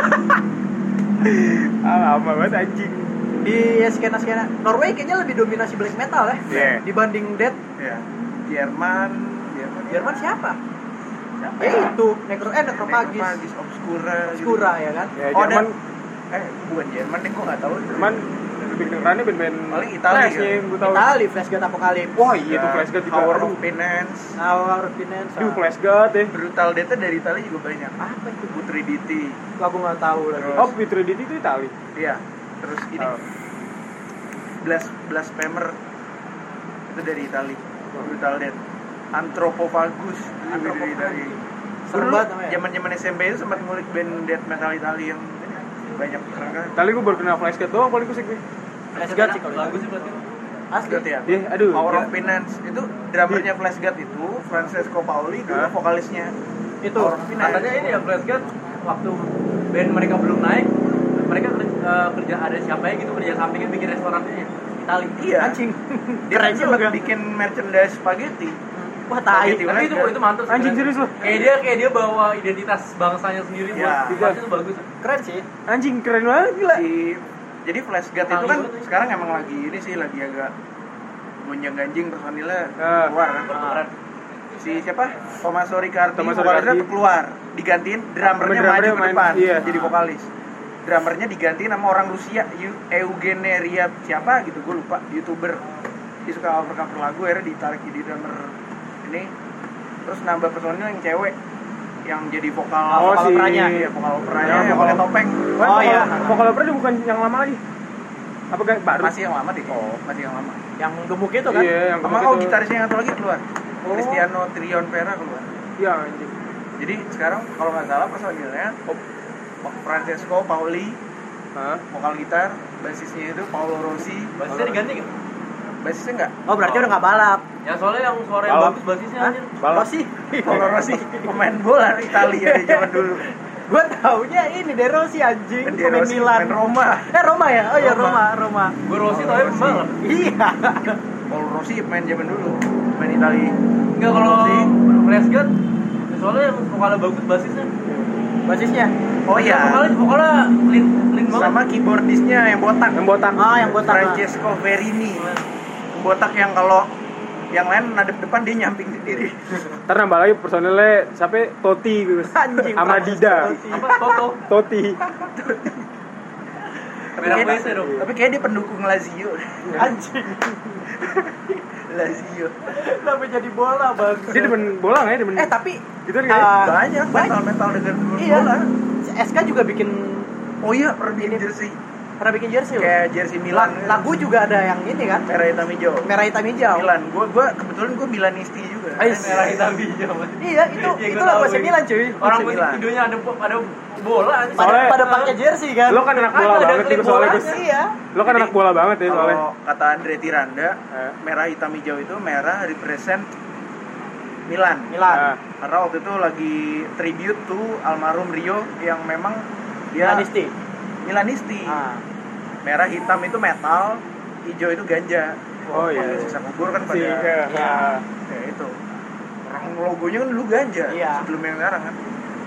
Lama banget anjing. Di skena-skena Norway kayaknya lebih dominasi black metal ya Iya. dibanding death. Ya. Jerman. Jerman siapa? Ya itu Necrophagis, Necrophagis, Obscura. gitu. Obscura ya kan? Ya Oh, Jerman, bukan Jerman deh, gua nggak tahu. Jerman lebih kedengerannya band-band Paling Italia, Flash kan? yang gue tahu. Itali, Flash God Apocalypse. Wah iya tuh Flash God juga. Power Aduh. of Penance. Our Finance. Aduh Flash God ya. Brutal Death dari Italia juga banyak. Apa itu? Putriditi. Aku nggak tahu lagi. Terus- Oh Fitri Didi itu Itali. Iya. Terus ini Oh. Blasphemer itu dari Italia. Brutal Death. Anthropophagus itu dari Italia. Serem Dulu banget namanya. zaman SMP itu sempat ngulik band death metal Italia yang banyak keren kan. Itali gue baru kenal Flash God doang paling kusik nih. Flash God sih kalau Lagu itu. sih berarti. Asli. Flash God ya. Iya, aduh. Power gila. of Penance itu drummernya Flash God itu Francesco Paoli dulu Hah? vokalisnya. Itu. Power of Penance. Katanya ini ya Flash God waktu band mereka belum naik, mereka kerja ada siapa ya gitu kerja sampingnya bikin restorannya Itali. Iya. Anjing. Dia kan Keren sempat juga. bikin merchandise spaghetti. Wah tai. Spaghetti Tapi itu mantap sih. Anjing keren. serius lu. Kayak dia bawa identitas bangsanya sendiri Iya. buat itu bagus. Keren sih. Anjing keren banget gila. Jadi Flash God itu kan sekarang emang lagi ini sih lagi agak gonjang ganjing personilnya keluar kan. Keren. Si siapa? Tommaso Riccardi Tommaso vokalisnya Riccardi. tuh keluar digantiin drummernya Drummernya maju ke main, depan iya. jadi vokalis. drummernya digantiin sama orang Rusia, Eugeneria siapa gitu, gue lupa, YouTuber. Dia suka cover lagu, akhirnya ditarik jadi drummer ini. Terus nambah personil yang cewek yang jadi vokal operanya, ya vokal operanya yang pakai topeng. Oh iya, vokal opera dia bukan yang lama lagi. Apa kayak baru? Masih yang lama deh. Masih yang lama. yang gemuk itu kan? Iya, yang Sama itu. gitarisnya yang satu lagi keluar. Cristiano Trion Vera keluar. Iya, anjing. Jadi sekarang kalau nggak salah personilnya Francesco Paoli, Hah? vokal gitar, basisnya itu Paolo Rossi. Basisnya diganti kan? Basisnya nggak? Oh berarti udah nggak balap. Ya soalnya yang suara yang Balap. bagus basisnya Hah? anjir. Balap. Rossi. Paolo Rossi pemain bola Italia dari zaman dulu. Gue taunya ini De Rossi anjing, Kan pemain Rossi Milan. pemain Roma. Roma ya? Oh iya Roma. Gue Rossi tau ya pembalap. Iya. Paolo Rossi pemain zaman dulu, pemain Italia. Enggak kalau Rossi. Prescott soalnya yang vokalnya bagus basisnya. Basisnya. Oh iya. Vokalnya clean banget. Sama keyboardisnya yang botak. Yang botak. Ah yang botak. Francesco Verini. Botak yang kalau yang lain nadep depan dia nyamping sendiri. Ntar nambah lagi personilnya siapa? Totti gitu. Anjing. Sama Dida. Apa Toto? Totti. Merah WC dong. Tapi kayak dia pendukung Lazio. Anjing. Lazio. Kenapa jadi bola bang? Dia demen bola nggak ya? Demen. Tapi Gitu kan kayaknya. Banyak metal dengan iya. bola. SK juga bikin Oh iya, pernah bikin jersey. pernah bikin jersey loh. Kayak jersey Milan. Lagu juga ada yang ini kan? Merah hitam hijau. Merah hitam hijau. Milan. Gua kebetulan gua Milanisti juga. Merah hitam hijau. Iya itu Iya, itu gua lagu tahu AC ini. Milan cuy. Orang AC musik Milan. videonya ada bola anjir. Soalnya- pada pakai jersey kan? Lo kan anak bola Ada banget klip gitu soalnya Gus. bolanya. Iya. Lo kan anak bola banget ya soalnya. Kalau kata Andre Tiranda, merah hitam hijau itu merah represent Milan. Milan. Nah, Karena waktu itu lagi tribute to almarhum Rio yang memang dia Milanisti. Milanisti. Ah. Merah hitam itu metal, hijau itu ganja. Oh, iya. Pakai sisa kubur kan si pada Iya. kayak itu. Orang logonya kan dulu ganja Iya. sebelum yang sekarang kan.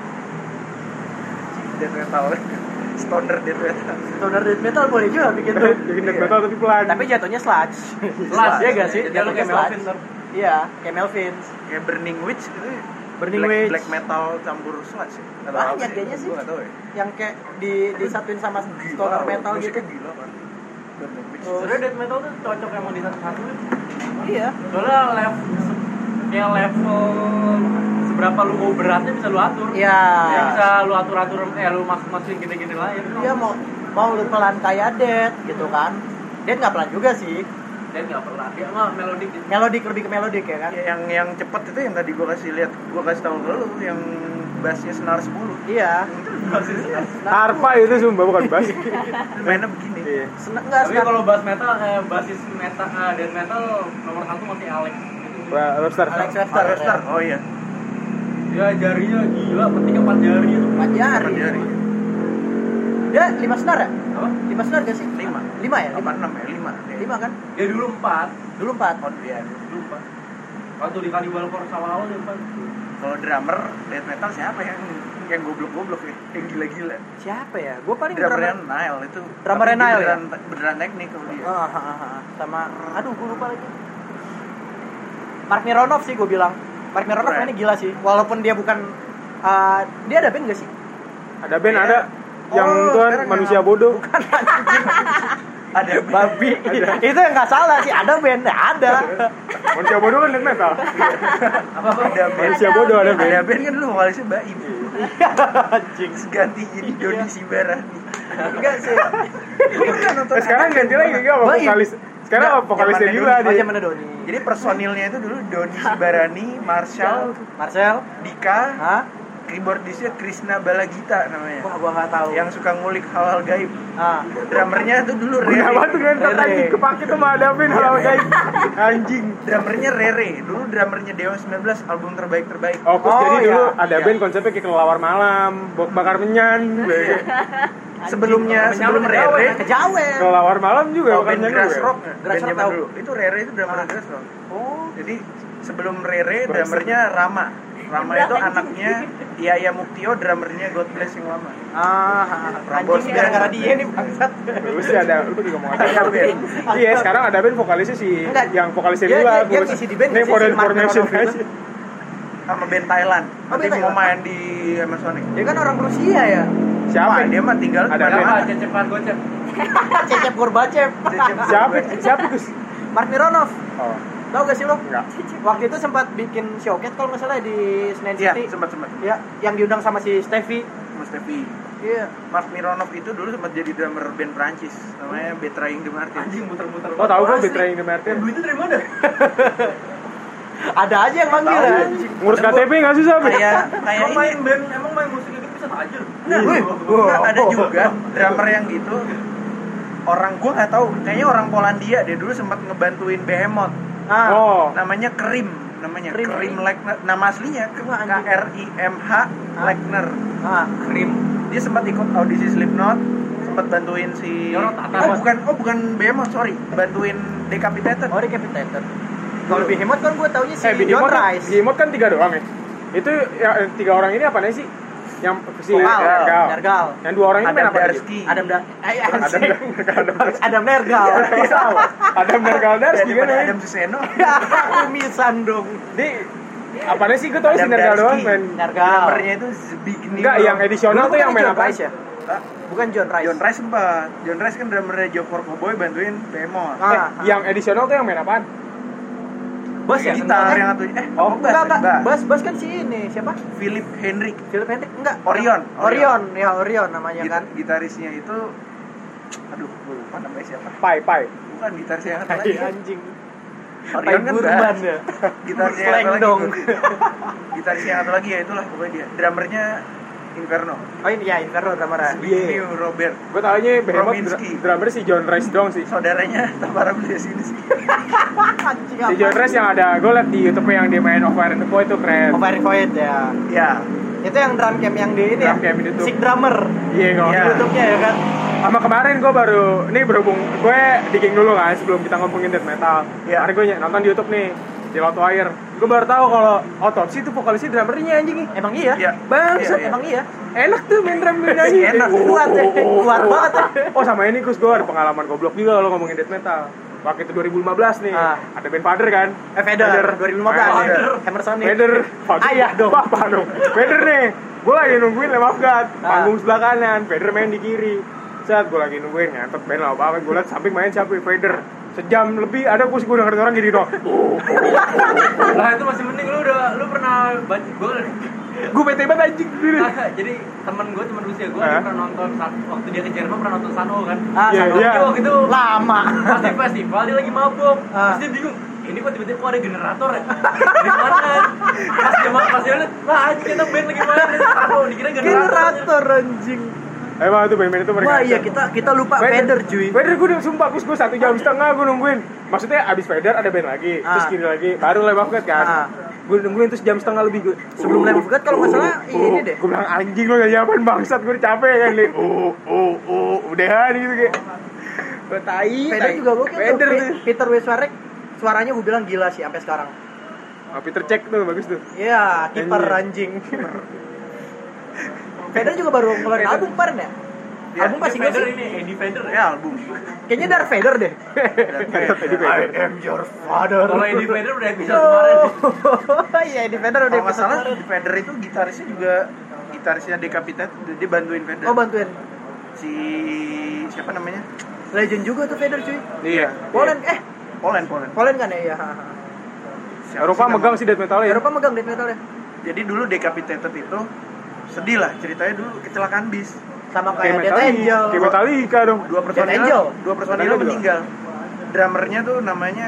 Death metal. Stoner death metal. Stoner death metal boleh juga bikin tuh. bikin death metal tapi pelan. Tapi jatuhnya sludge. Sludge, ya gak sih? jadi lo kayak Melvin, ntar. Iya, kayak Melvins. Kayak Burning Witch gitu ya. Burning black, Witch. black metal campur sludge ya? Atau Banyak apa sih? kayaknya sih. Gua nggak tahu ya. Yang kayak disatuin sama stoner metal gitu. Musiknya gila kan. Burning Witch. Oh. Sebenarnya death metal tuh cocok emang di satu-satu. Iya. Soalnya level seberapa lu mau beratnya bisa lu atur. Iya. Ya, bisa lu atur-atur lu masukin gini-gini lah ya. Iya mau lu pelan kayak Dead gitu kan. Dead nggak pelan juga sih. Dan nggak pernah dia nggak melodik gitu. Melodik lebih ke melodik ya kan. Ya, yang cepet itu yang tadi gua kasih lihat, gua kasih tahu ke lu yang bassnya senar 10. Iya. Harpa itu sumpah bukan bass. Mainnya begini. Iya. Seneng nggak Tapi sekarang? kalau bass metal basis metal dan metal nomor 1 masih Alex. Wah, Lobster. Alex Webster. Harvester. Oh iya. Ya jarinya gila, pentingnya 4 jari itu. Pajari. Jari. Dia 5 senar ya? Apa? 5 senar gak sih? 5. 5 ya? 8 6 ya, 5. 5 kan? Ya dulu 4. Dulu 4. Oh iya. Dulu 4. Waktu di Cannibal Corpse awal-awal dia 4. Kalau drummer death metal siapa yang goblok-goblok ya? Yang gila-gila. Siapa ya? Gue paling Drummernya Nile itu. Drummernya Tapi dia Nile ya? beneran teknik kalau dia. Sama aduh gue lupa lagi. Mark Mironov sih gue bilang. Mark Mironov Keren. mainnya gila sih. Walaupun dia bukan dia ada band gak sih? Ada band Iya. ada yang Oh, tuan sekarang manusia yang- bodoh. Ada Babi. Itu yang nggak salah sih. Ada band, ada. Manusia bodoh kan death metal. Ada band. Manusia bodoh ada Ada band. band kan dulu vokalisnya Baim. Anjing. Ganti jadi Doni Sibarani. Enggak sih. Eh, sekarang ganti lagi enggak sama Baim. vokalis. Sekarang Nggak, sama vokalisnya zamannya Lila dulu, dia. Mana Doni? Jadi personilnya itu dulu Doni Sibarani, Marshall, Marcel? Dika, Hah? keyboardisnya Krishna Balagita namanya. Wah, gua nggak tahu. Yang suka ngulik hal-hal gaib. Ah. Drummernya tuh dulu Guna Rere. banget kan Rere. anjing kepake tuh sama ada band hal kayak anjing. Drummernya Rere. Dulu drummernya Dewa 19 album terbaik. Oh, terus Oh, jadi dulu iya. ada Iya. band konsepnya kayak kelelawar malam, bakar menyan. Sebelumnya sebelum Menyawa Rere, Kejawen. Kelelawar malam juga oh, bakar band menyan Grass juga. Rock. Grass Bandnya Rock tahu. dulu. Itu Rere itu drummer Grass Rock. Oh. Jadi sebelum Rere drummernya Rama. Rama itu anaknya Yaya Muktio, drummernya God Bless yang lama. Anjing nih gara-gara dia nih bangsat. Lu sih ada, lu juga ngomong Ada aja. band. Iya, sekarang ada band vokalisnya si Enggak. yang vokalisnya Dia- Lila. dia ngisi di band Nih nggak sih, Foreign si Mark Formation Mironov aja. itu? Sama band Thailand. Oh, Nanti band mau Thailand. main di Amazonic. Dia kan orang Rusia ya. Siapa? Dia mah tinggal Ada di mana? Cecepan gocep. Cecep Gorbachev. Siapa Gus? Mark Mironov. Oh, Tahu gak sih lo? enggak. Waktu itu sempat bikin showcase kalau nggak salah di Senayan Iya, City. sempat. Ya, yang diundang sama si Steffi. Mas Tevi. Iya. Mark Mironov itu dulu sempat jadi drummer band Prancis namanya Betraying the Martyrs. Anjing muter-muter. Oh, tahu gue Asli. Betraying the Martyrs. Duitnya dari mana? Ada aja yang manggil Tahu. ya. Ngurus KTP enggak susah, Be? Kayak Emang main ini. band, emang main musik itu bisa aja. Nah, Wih, enggak, ada juga drummer yang gitu. Orang gua nggak tahu, kayaknya orang Polandia deh dulu sempat ngebantuin Behemoth. Ah, Oh, Namanya Krim, Krim. Lechner. Nama aslinya Wah, anjing. KRIMH Lechner. ah. Krim. Dia sempat ikut audisi Slipknot, sempat bantuin si Ya, orang Tatar. bukan Behemoth, sorry. Bantuin Decapitated. Oh, Decapitated. Kalau Behemoth kan gue taunya si John Behemoth kan 3 doang ya. Itu ya 3 orang ini apa sih? Yang si Nergal. Yang 2 orang ini main Adam apa lagi? Darsky. Adam Nergal. Adam Nergaldarski kan ya. Adam Suseno. Kumisan dong. Di apanya sih gue tau si Adam Nergal doang Darsky. main. Nergal. Drummernya itu Zbigniew. Enggak, yang edisional tuh yang main John apa? Rice ya? Hah? Bukan John Rice. John Rice sempat. John Rice kan drummernya Joe for Cowboy bantuin Behemoth. Yang edisional tuh yang main apaan? Bos ya? Gitar yang satu Oh, Bass kan si ini siapa? Philip Hendrick. Philip Hendrick enggak? Orion. Orion namanya kan. Gitarisnya itu aduh, gue lupa namanya siapa. Pai. Bukan gitarisnya yang satu lagi. Anjing. Orion kan Burban bass. ya. Gitarisnya yang Slang satu lagi. dong. Gitarisnya yang satu lagi ya itulah pokoknya dia. Drummernya Inferno. Oh ini ya Inferno drummer. Zbigniew Robert. Gue taunya Behemoth Rominski. drummer si John Rice dong sih. Saudaranya Tamara Beli sini sih. Anjing Si John Rice yang ada gue liat di YouTube yang dia main Over the Void itu keren. Over Void ya. Ya. Itu yang drum camp yang di ini Drum ya. camp di YouTube. Sick drummer. Iya kalau Iya. YouTube-nya ya kan. sama kemarin gue baru ini berhubung gue digging dulu kan sebelum kita ngomongin death metal. Iya. Kemarin gue nonton di YouTube nih di Loudwire. Gue baru tahu kalau Autopsy itu vokalisnya drummernya anjing nih. Emang iya? Iya. Bangsat, Iya. Emang iya. enak tuh main drum nyanyi. Enak. Kuat ya. Kuat banget ya. Oh sama ini Gus, gue ada pengalaman goblok juga kalau ngomongin death metal. Waktu itu 2015 nih, ada band Father kan? Vader 2015. Hammer Sonic. Vader, Ayah dong. Bapak dong. Vader nih, gue lagi nungguin Lamb of God, panggung sebelah kanan, Vader main di kiri. Saat gue lagi nungguin nyantet band lah apa, gue liat samping main siapa Vader. Sejam lebih ada gue dengerin orang gini dong. Lah itu masih mending lu pernah baca Gue bete banget anjing sendiri. jadi temen usia gue dia pernah nonton waktu dia ke Jerman pernah nonton Sanho kan. Iya, Sanho iya. dia waktu itu Lama. pas di festival dia lagi mabuk. Terus dia bingung, ini kok tiba-tiba kok ada generator ya? Di mana? Pas dia lihat, lah anjing kita band lagi main di Sanho, dikira generator. Generator anjing. Emang tuh band-band itu mereka. Wah iya kita lupa Vader cuy. Vader gue udah sumpah gue 1,5 jam gue nungguin. Maksudnya abis Vader ada band lagi, terus gini lagi, baru Lamb of God kan. Gue nungguin terus jam setengah lebih gue. Sebelum Lamb of God kalau nggak salah ini deh. Gue bilang anjing lo nyanyi apaan bangsat, gue udah capek kan li. Udahan gitu kayak. Gue tai. Vader juga gokil Vader tuh. tuh. Peter Weswarek suaranya gue bilang gila sih sampai sekarang. Peter Cech tuh bagus tuh. Iya, kiper anjing. Vader juga baru ngeluarin album kemarin ya? Album pasti gue Vader sih. ini Eddie Vader ya. Ya album. Kayaknya Darth Vader deh. I am your father. Kalau Eddie Vader udah episode kemarin sih. Iya, Eddie Vader udah Kalau nggak episode salah kemarin. di Vader itu gitarisnya Decapitated, dia bantuin Vader. Oh bantuin. Si siapa namanya? Legend juga tuh Vader cuy. Iya. Poland Poland. kan ya? Iya. Siapa Eropa sih megang nama? sih death metal ya. Eropa megang death metal ya. Jadi dulu Decapitated itu sedih lah ceritanya, dulu kecelakaan bis. Sama kayak Death Angel. Kayak Metallica dong. Dua personil Angel. Metallica juga. meninggal. Drummernya tuh namanya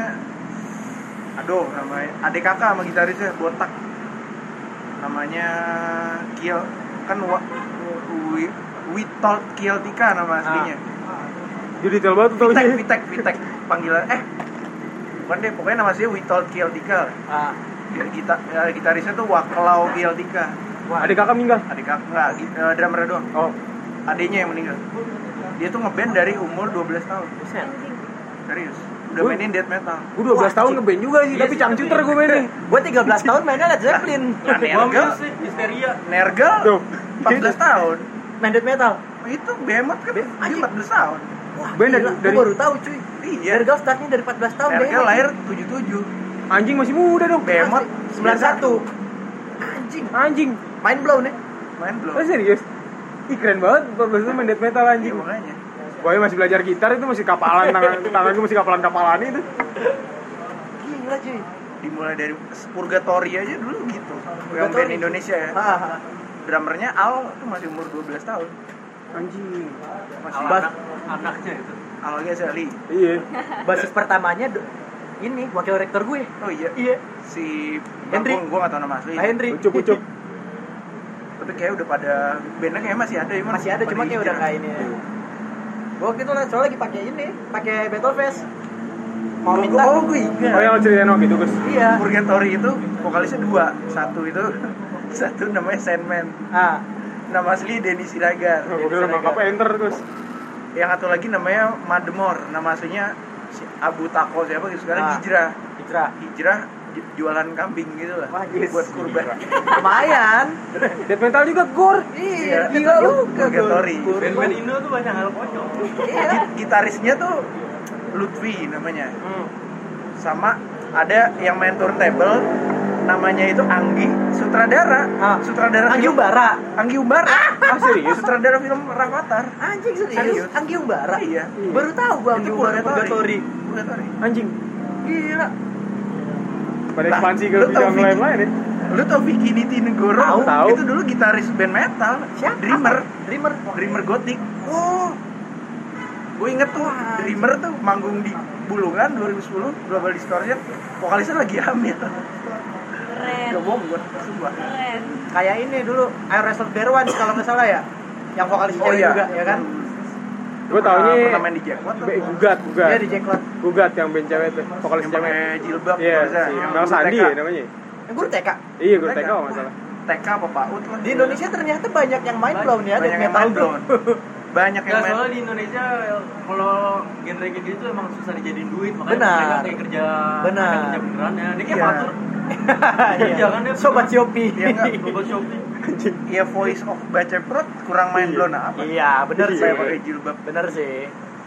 ADKK sama gitarisnya botak. Namanya Kiel kan Witold Kieltika nama aslinya. Jadi detail banget tuh taunya. Vitek panggilan bukan deh, pokoknya nama aslinya Witold Kieltika. Gitarisnya tuh Waklau Kieltika. Adik kakak meninggal. ADKK enggak, drummernya doang. Oh. Adenya yang meninggal. Dia tuh ngeband dari umur 12 tahun. Serius. Udah mainin death metal. Gue 12 tahun ngeband juga sih, tapi cangcuter gue mainin. Gue 13 tahun mainnya Led Zeppelin. Nergal sih histeria. Nergal Tuh. 14 tahun. Main death metal. Itu Behemoth kan dia 14 tahun. Wah, Ben gila. Gue dari- baru tahu cuy. Iya. Nergal startnya dari 14 tahun. Nergal Behemoth. lahir 77. Anjing masih muda dong. Behemoth 91. Anjing. Anjing. Mind blown nih. Main belum. Oh, serius? Ih keren banget 14 itu main death metal Iya, anjing. makanya. Boy masih belajar gitar itu masih kapalan tangan gue masih kapalan itu. Gila cuy. Dimulai dari Purgatory aja dulu gitu. Yang band Indonesia ya. Ah, Drummernya Al itu masih umur 12 tahun. Anjing. Masih Anaknya itu. Al Ghazali. Iya. basis pertamanya ini wakil rektor gue. Oh iya. Iya. Si Hendrik. Gue gak tau nama asli. Henry. Ucup. Tapi kayak udah pada bandnya kayak masih ada ya. Masih ada cuma kayak udah kayak ini. Gue waktu itu soalnya lagi pakai ini, pakai Battle Face. Mau minta. Oh gue ingat. Oh yang lo ceritain waktu itu Gus. Iya. Purgatory itu vokalisnya 2. Satu itu satu namanya Sandman. Ah, Nama asli Denny Siragar. Gue kira nangkap enter Gus. Yang satu lagi namanya Mademor. Nama aslinya si Abu Tako siapa gitu. Sekarang Ah. Hijrah. Hijrah. Jualan kambing gitu lah. Wah, yes. Buat kurban. Lumayan. Death metal juga gore. Iya, Iya, gila juga. Purgatory. Band-band Indo tuh banyak hal konyol. Iya. Gitarisnya tuh Lutfi namanya. Hmm. Sama ada yang main turntable namanya itu Anggi Sutradara. Ah. Sutradara Anggi film- Umbara. Anggi Umbara. Ah serius? Sutradara film Rafathar. Anjing serius. Serius? Anggi Umbara. Iya. Baru tahu gua Anggi Itu Umbara Purgatory. Purgatory. Anjing. Gila. Pada Nah, ekspansi ke lu tau bidang Vicky? lain ya. Lu tau Vicky Nitinegoro? Tahu. Itu dulu gitaris band metal. Siapa? Dreamer Gothic. Oh, Gue inget tuh Dreamer tuh manggung di Bulungan 2010 Global Distortion. Vokalisnya lagi hamil. Keren. Gak bohong gue, sumpah. Keren. kayak ini dulu Air Wrestle Derwan kalau nggak salah ya. Yang vokalis cewek juga ya kan? Gue taunya pernah main di Jackpot tuh. gugat. Dia di Jacklot. Gugat yang band cewek tuh, vokalis Yang cewek. pakai jilbab Iya, biasa. si Yang Mel guru Sandi TK. ya namanya. Yang guru TK. Iya, gue TK. TK kalau nggak salah. TK apa PAUD lah. Di Indonesia ternyata banyak yang mind blown ya, banyak death yang metal main tuh. blown. Banyak yang Nggak, main. soalnya di Indonesia kalau genre kayak gitu emang susah dijadiin duit, makanya Benar. mereka kayak kerja Benar. ada kerja beneran ya. Ini kayak Iya. patur. Iya. Jangan deh, Sobat Shopee. Iya nggak? Robot Shopee. Ya voice of Baceprot kurang main blown apa? Iya, bener sih. Saya pakai jilbab. Bener sih.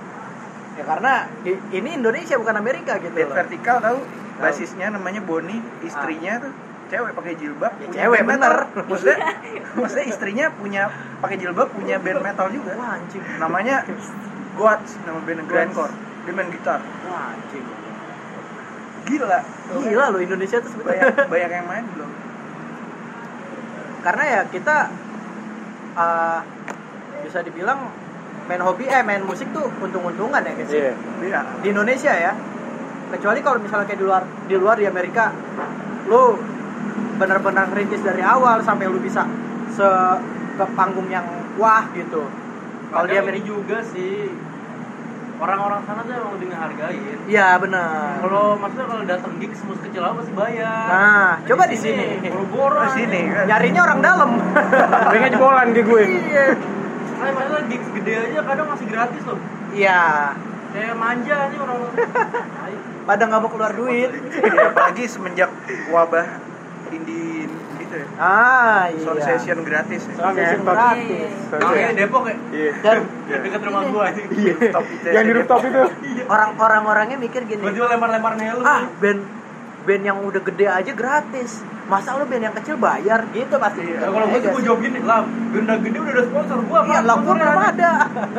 Ya karena ini Indonesia bukan Amerika gitu Dead loh. Vertical tahu? Basisnya namanya Bonnie, istrinya tuh cewek pakai jilbab. Ya, punya cewek, band metal. bener. Maksudnya istrinya punya pakai jilbab punya band metal juga. Wah, anjing. Namanya Goats, nama band grindcore. Dia main gitar. Wah, anjing. Gila. Gila loh Indonesia tuh sebenarnya. Banyak yang main belum? Karena ya kita bisa dibilang main main musik tuh untung-untungan ya guys. Iya. Iya. Di Indonesia ya. Kecuali kalau misalnya kayak di luar di Amerika, lu benar-benar rintis dari awal sampai lu bisa ke panggung yang wah gitu. Kalau di Kadang Amerika ini juga sih orang-orang sana tuh emang lebih ngehargain. iya benar. Kalau maksudnya kalau datang gigs musik kecil apa pasti bayar. Nah, coba di sini. Boro-boro. Di sini kan. Nyarinya orang dalam. Pengen jebolan kayak gue. Iya. Nah, maksudnya gigs gede aja kadang masih gratis loh. Iya. Kayak manja nih orang. Pada nggak mau keluar duit. Ya, apalagi semenjak wabah indie gitu ya. Ah, iya. Sound session gratis ya. Ah, Session ngentot. gratis. Oh, kayak Depok ya? Iya. Dan Dekat rumah gua aja. Iya. Top itu Yang di ya. rooftop itu. orang-orangnya mikir gini. Tiba-tiba lempar-lempar helm. Band yang udah gede aja gratis. Masa lu band yang kecil bayar gitu pasti. Ya, kalau gua tuh gua jawab gini, lah, band gede udah ada sponsor gua Iya, lah gua belum ada.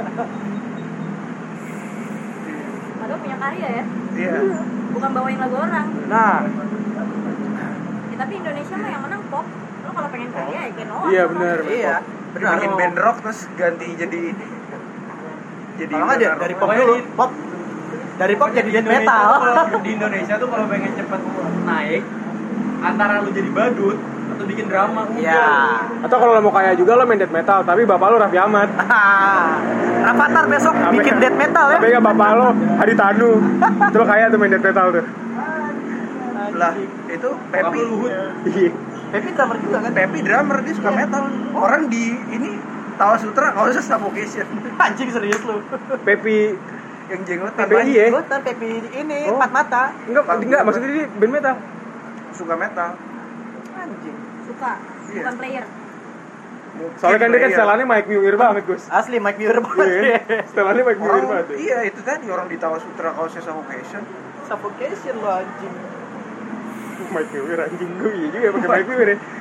Padahal punya karya ya. Iya. Bukan bawain lagu orang. Nah, Ya, tapi Indonesia mah yang menang pop. Lo kalau pengen karya ya Genoa. Iya benar. iya, benar. Bikin band rock terus ganti jadi Kalau nggak benar dari rock. pop Pokoknya dulu, di- pop. Dari pop jadi death Indonesia metal. tuh kalau- Di Indonesia tuh kalau pengen cepet naik, antara lu jadi badut atau bikin drama udah. Iya. Atau kalau lo mau kaya juga lo main death metal, tapi bapak lo Raffi Ahmad. Rafathar besok bikin death metal ya. Tapi nggak bapak lo Hadi Tanu. Itu lo kaya tuh main death metal tuh. Lah, itu Bapak Pepi. Luhut. Iya. Pepi drummer juga kan? Pepi drummer dia suka metal. Orang di ini Tawa Sutra kalau usah Suffocation. Anjing serius lu. Pepi Yang jenggotan PPI ya? Gua kan Pepi ini Oh. empat mata. Enggak maksudnya dia band metal. suka metal. Anjing. Suka. Iya. Bukan player. Soalnya kan dia kan Player. setelannya Mike Muir banget, Gus. Asli Mike Muir Iya banget. kan? Setelannya Mike Muir Orang, banget. tuh. iya itu tadi orang di Tawa Sutra kalau usah Suffocation. Suffocation lo anjing. Mike Muir anjing gue iya juga pakai Mike Muir ya.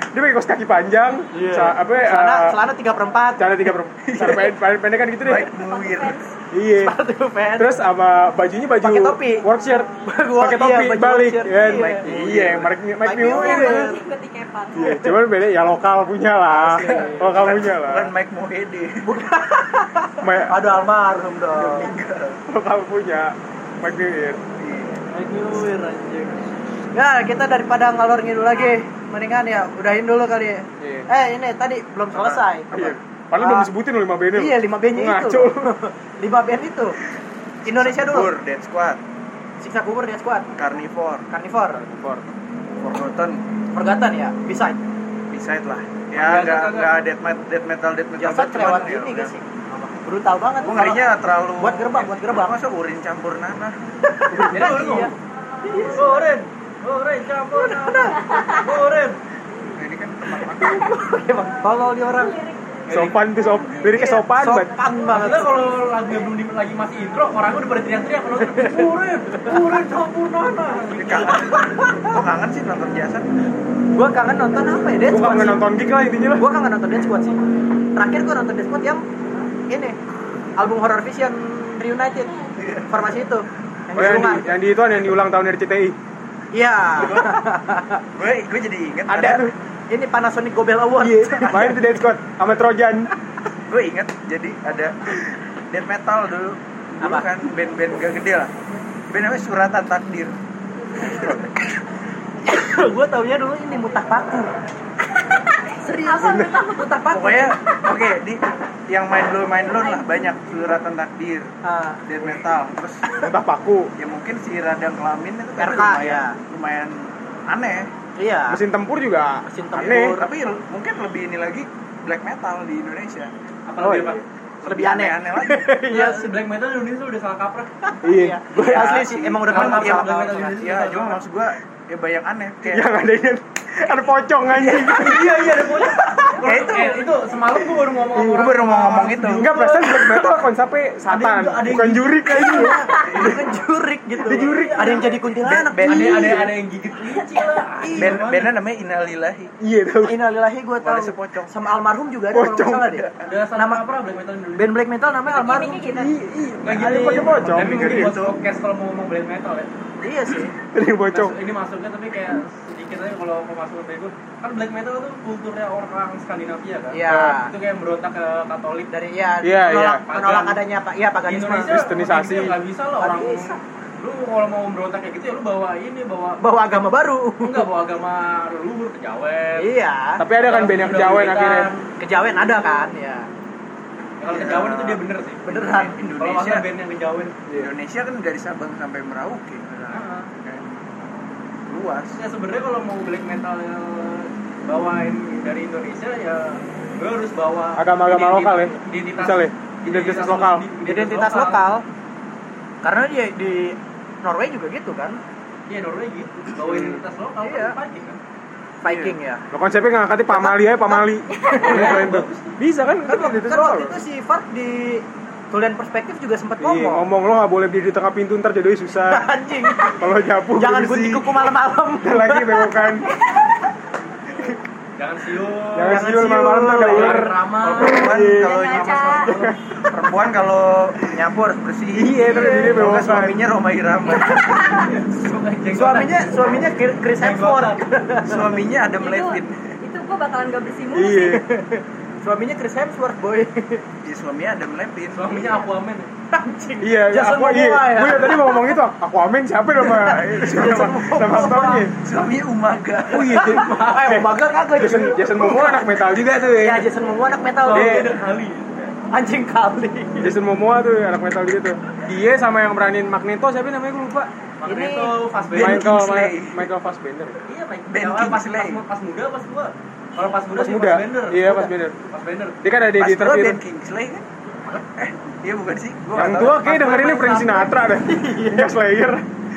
Dia pakai kaos kaki panjang, celana 3/4. celana 3/4 pendek kan gitu deh. Mike Muir. Iya. Sepatu fans. Terus sama bajunya baju Pakai topi. work shirt. Pakai Iya, topi baju balik work shirt. kan. Iya. Mike Muir. ikut di kepan. Iya, cuman beda ya lokal punya lah. Lokal punya lah. Bukan Mike Mohede. Aduh almarhum dong. Lokal punya Mike Muir. Mike Muir anjing. Ya, kita daripada ngalor ngidul lagi, mendingan ya udahin dulu kali ya. Iya. Ini tadi belum selesai. Iya. Padahal belum disebutin loh 5 bandnya. Iya, 5 bandnya itu. Ngaco. 5 band itu. Indonesia dulu. Kubur, Dead Squad, Siksa Kubur, Death Squad, Carnivore, Forgotten, Forgotten ya, Beside. Beside lah. Ya nggak death metal Jasad kelewat ya ini udah. gak sih? Brutal banget. Gue ngerinya terlalu buat gerbang. Masa urin campur nanah? Iya. Oren campur nana. Oren. Nah, ini kan tempat makan. Emang tolol di orang. Sopan tuh liriknya sopan banget. Sopan banget. Maksudnya kalau lagunya belum lagi masih intro, orangnya udah pada teriak-teriak kalau Oren campur nana. Gue kangen sih nonton Jasad. Gua kangen nonton apa ya? Death Gua Squad kangen sih. nonton gig lah intinya lah. Gua kangen nonton Death Squad sih. Terakhir gua nonton Death Squad yang ini album Horror Vision Reunited. Formasi itu. Oh yang di ulang tahun RCTI. Iya. Gue jadi inget Ada tuh. Ini Panasonic Gobel Award. Iya, main di Dead Squad sama Trojan. Gue inget jadi ada death metal dulu. Dulu Apa? kan band-band gak gede lah. Band namanya Suratan Takdir. Gua taunya dulu ini Mutah Paku. Serius. Mutah Paku. Pokoknya oke di yang main dulu lah banyak Suratan Takdir, Ah, death metal. Terus Entah paku. ya mungkin si Radang Kelamin itu kan RK, ya. lumayan aneh. iya. Mesin tempur juga Mesin tempur. aneh. Tapi mungkin lebih ini lagi black metal di Indonesia. Apa Oh, lagi iya. Pak? Lebih aneh. Aneh lagi. Iya, si black metal di Indonesia udah salah kaprah. Iya. Gue asli sih emang udah Kalau kenal salah salah metal kaprah. Indonesia. Ya, cuma maksud gua ya banyak aneh kayak Yang ada pocong anjing. Iya, ada pocong. Kayak itu. Itu semalam gua baru ngomong sama Gue baru mau ngomong itu. Enggak, perasaan black metal konsepnya setan, Ada yang bukan jurik kayaknya. Bukan jurik gitu. Dia jurik. Ada yang jadi kuntilanak. Band- Iya. Ada yang gigit kelinci lah. Bandnya namanya Innalillahi. Iya tahu. Innalillahi gue tahu. Warisnya pocong. Sama almarhum juga ada kalau nggak Pocong. salah deh. Udah salah kaprah black metal Indonesia. Band black metal namanya almarhum. Gimiknya gitu. Nggak Ada yang pakai pocong. Tapi mungkin Gitu. buat podcast kalau mau ngomong black metal ya. Iya sih. Ada yang pocong. Ini masuknya tapi kayak sedikit aja kalau mau masuk ke gue. Kan black metal itu kulturnya orang Skandinavia kan. Iya. Itu kayak berontak ke Katolik. Dari Iya, menolak iya. adanya Pak. Iya, Di paganisme. Indonesia Kristenisasi. nggak bisa lah Nggak orang. bisa. Lu kalau mau berontak kayak gitu ya lu bawa ini Bawa agama baru. enggak bawa agama leluhur kejawen. Iya. Tapi ada kan band yang kejawen akhirnya. Kejawen ada kan? Ya. Kalau kejawen itu dia bener sih. Beneran. Kalau Indonesia masa band yang kejawen. Indonesia kan dari Sabang sampai Merauke. Heeh. Kayak luas. Ya sebenarnya kalau mau black metal bawain dari Indonesia ya gue harus bawa Agama-agama lokal ya? Identitas Misalnya, identitas lokal. Identitas lokal. Karena dia di Norway juga gitu kan. Iya Norway gitu. Bawa identitas lokal Iya. kan Viking kan. Viking ya. Lo konsepnya nggak ngangkatin pamali aja pamali. Bisa kan? Kan Kan itu waktu itu si Fart di Tulian Perspektif juga sempat Iya, ngomong. ngomong lo nggak boleh berdiri di tengah pintu ntar jodohnya susah. Anjing. Kalau nyapu Jangan bersih. gunting kuku malam-malam. Lagi bewokan. Jangan siul. Jangan siul malam-malam tuh ada ular. Ramah. Perempuan kalau nyapu harus bersih. Iya, terus ini Kalau nggak bewokan. suaminya Roma Irama. Suaminya Chris Hemsworth. Suaminya Adam Levine. Itu gua bakalan gak bersih mulu Iya. sih. Suaminya Chris Hemsworth, boy. Di suaminya Adam Levine. Suaminya Aquaman. Anjing. Iya, Jason aku iya. Momoa ya. Gue tadi mau ngomong itu. Aku amin siapa nama nama aktornya? Suaminya Umaga. Oh iya, Umaga kagak. Jason Momoa anak metal juga tuh Ya, ya. Jason Momoa anak metal. Iya. Kali. Anjing kali. Jason Momoa tuh anak metal juga tuh. Dia sama yang beranin Magneto siapa namanya gue lupa. Magneto Fassbender. Michael Fassbender. Iya, Ben pas Kingsley. pas muda pas tua. Kalau pas muda Pas sih muda. Fassbender. Iya, Fassbender. Fassbender. Dia kan ada di Pas tua interview. Ben Kingsley kan? Iya bukan sih? Gua Yang nggak tua tahu. kayak dengerin ini Frank Sinatra dah. Yang Slayer.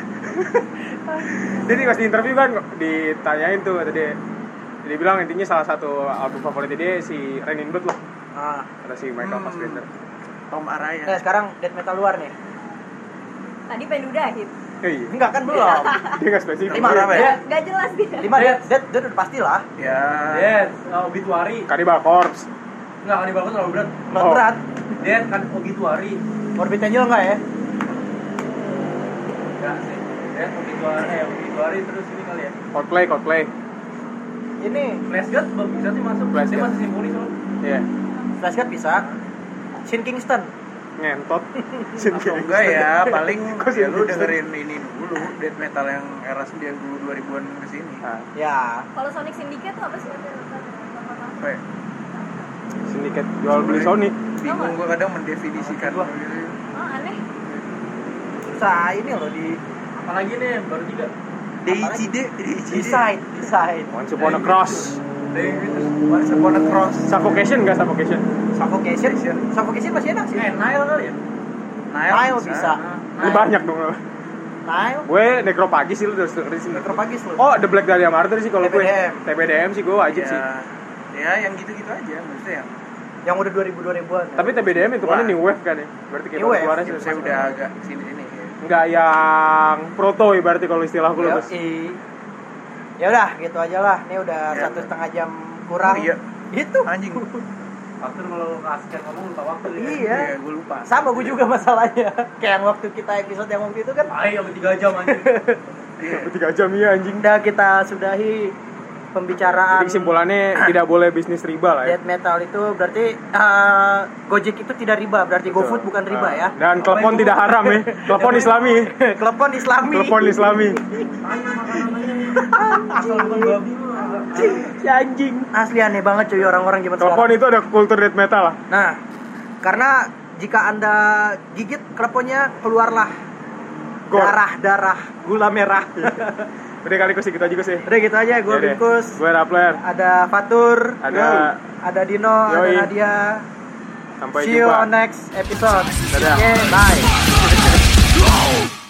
Jadi pas di interview kan ditanyain tuh dia bilang intinya salah satu album favoritnya dia si Rain in Blood loh. Ah. Kata si Michael Fassbender. Tom Araya. Sekarang death metal luar nih. Tadi pengen udahin. Iya. Enggak kan belum. Dia nggak spesifik. Lima apa ya? Gak jelas dia. 5 dead udah pastilah. Ya. Dead, obituary. Cannibal Corpse. Enggak, Cannibal Corpse terlalu berat. Oh. Berat. Dead kan obituary. Morbid Angel enggak ya? Enggak sih. Dead obituary terus ini kali ya. Coldplay. Ini Flash God belum bisa sih masuk. Flash Dia God. masih simfoni soalnya. Iya. Flash God bisa. Shin Kingston. Ngentot. Atau enggak ya, paling Kok ya lu sih? dengerin ini dulu, death metal yang era 90-2000-an kesini. Nah, Ya. Kalau Sonic Syndicate tuh apa sih? Apa ya? sindiket jual beli Sony. Bingung gua kadang mendefinisikan gitu. Oh, aneh. Susah ini loh di Apalagi nih baru 3. Deicide. Decide. Once Upon a Cross. Once Upon a Cross. Suffocation nggak Suffocation? Suffocation masih enak sih. Nile kali ya? Nile bisa. Ini banyak dong. Nile. Gue Necrophagus sih lu udah dengerin sih. Necrophagus loh. Oh, The Black Dahlia Murder sih kalau gue. TBDM. TBDM sih gue wajib sih. Ya yang gitu-gitu aja maksudnya. Yang udah 2000-2000-an. Tapi TBDM itu kan Wah. new wave kan ya. Berarti kayak New wave. keluarnya Ya, saya udah agak sini-sini ya. enggak yang proto ibaratnya kalau istilah gue Ya, Bos. ya udah gitu aja lah. Ini udah Ya. 1,5 jam kurang. Oh, iya. Gitu. Anjing. Waktu kalau kasih ngomong lupa waktu ya. Iya. Gue lupa. Sama gue juga masalahnya. Kayak yang waktu kita episode yang waktu itu kan. Ayo sampai 3 jam anjing. 3 jam ya anjing. Udah kita sudahi pembicaraan. Jadi kesimpulannya tidak boleh bisnis riba lah ya. Death metal itu berarti Gojek itu tidak riba, berarti GoFood bukan riba ya. Dan telepon tidak haram ya. Telepon Islami. Telepon Islami. Telepon Islami. Asal bukan babi mah. Si anjing. Asli aneh banget cuy orang-orang zaman Telepon sekarang. itu ada kultur death metal lah. Nah, karena jika Anda gigit teleponnya keluarlah Gor. darah gula merah. Udah kali gue sih gitu aja gue sih. Udah gitu aja, gue Ya deh. Bingkus. Gue Rappler. Ada Fatur, ada Dino, ada Yoi. Nadia. Sampai See you jumpa. on next episode. Dadah. Oke, bye.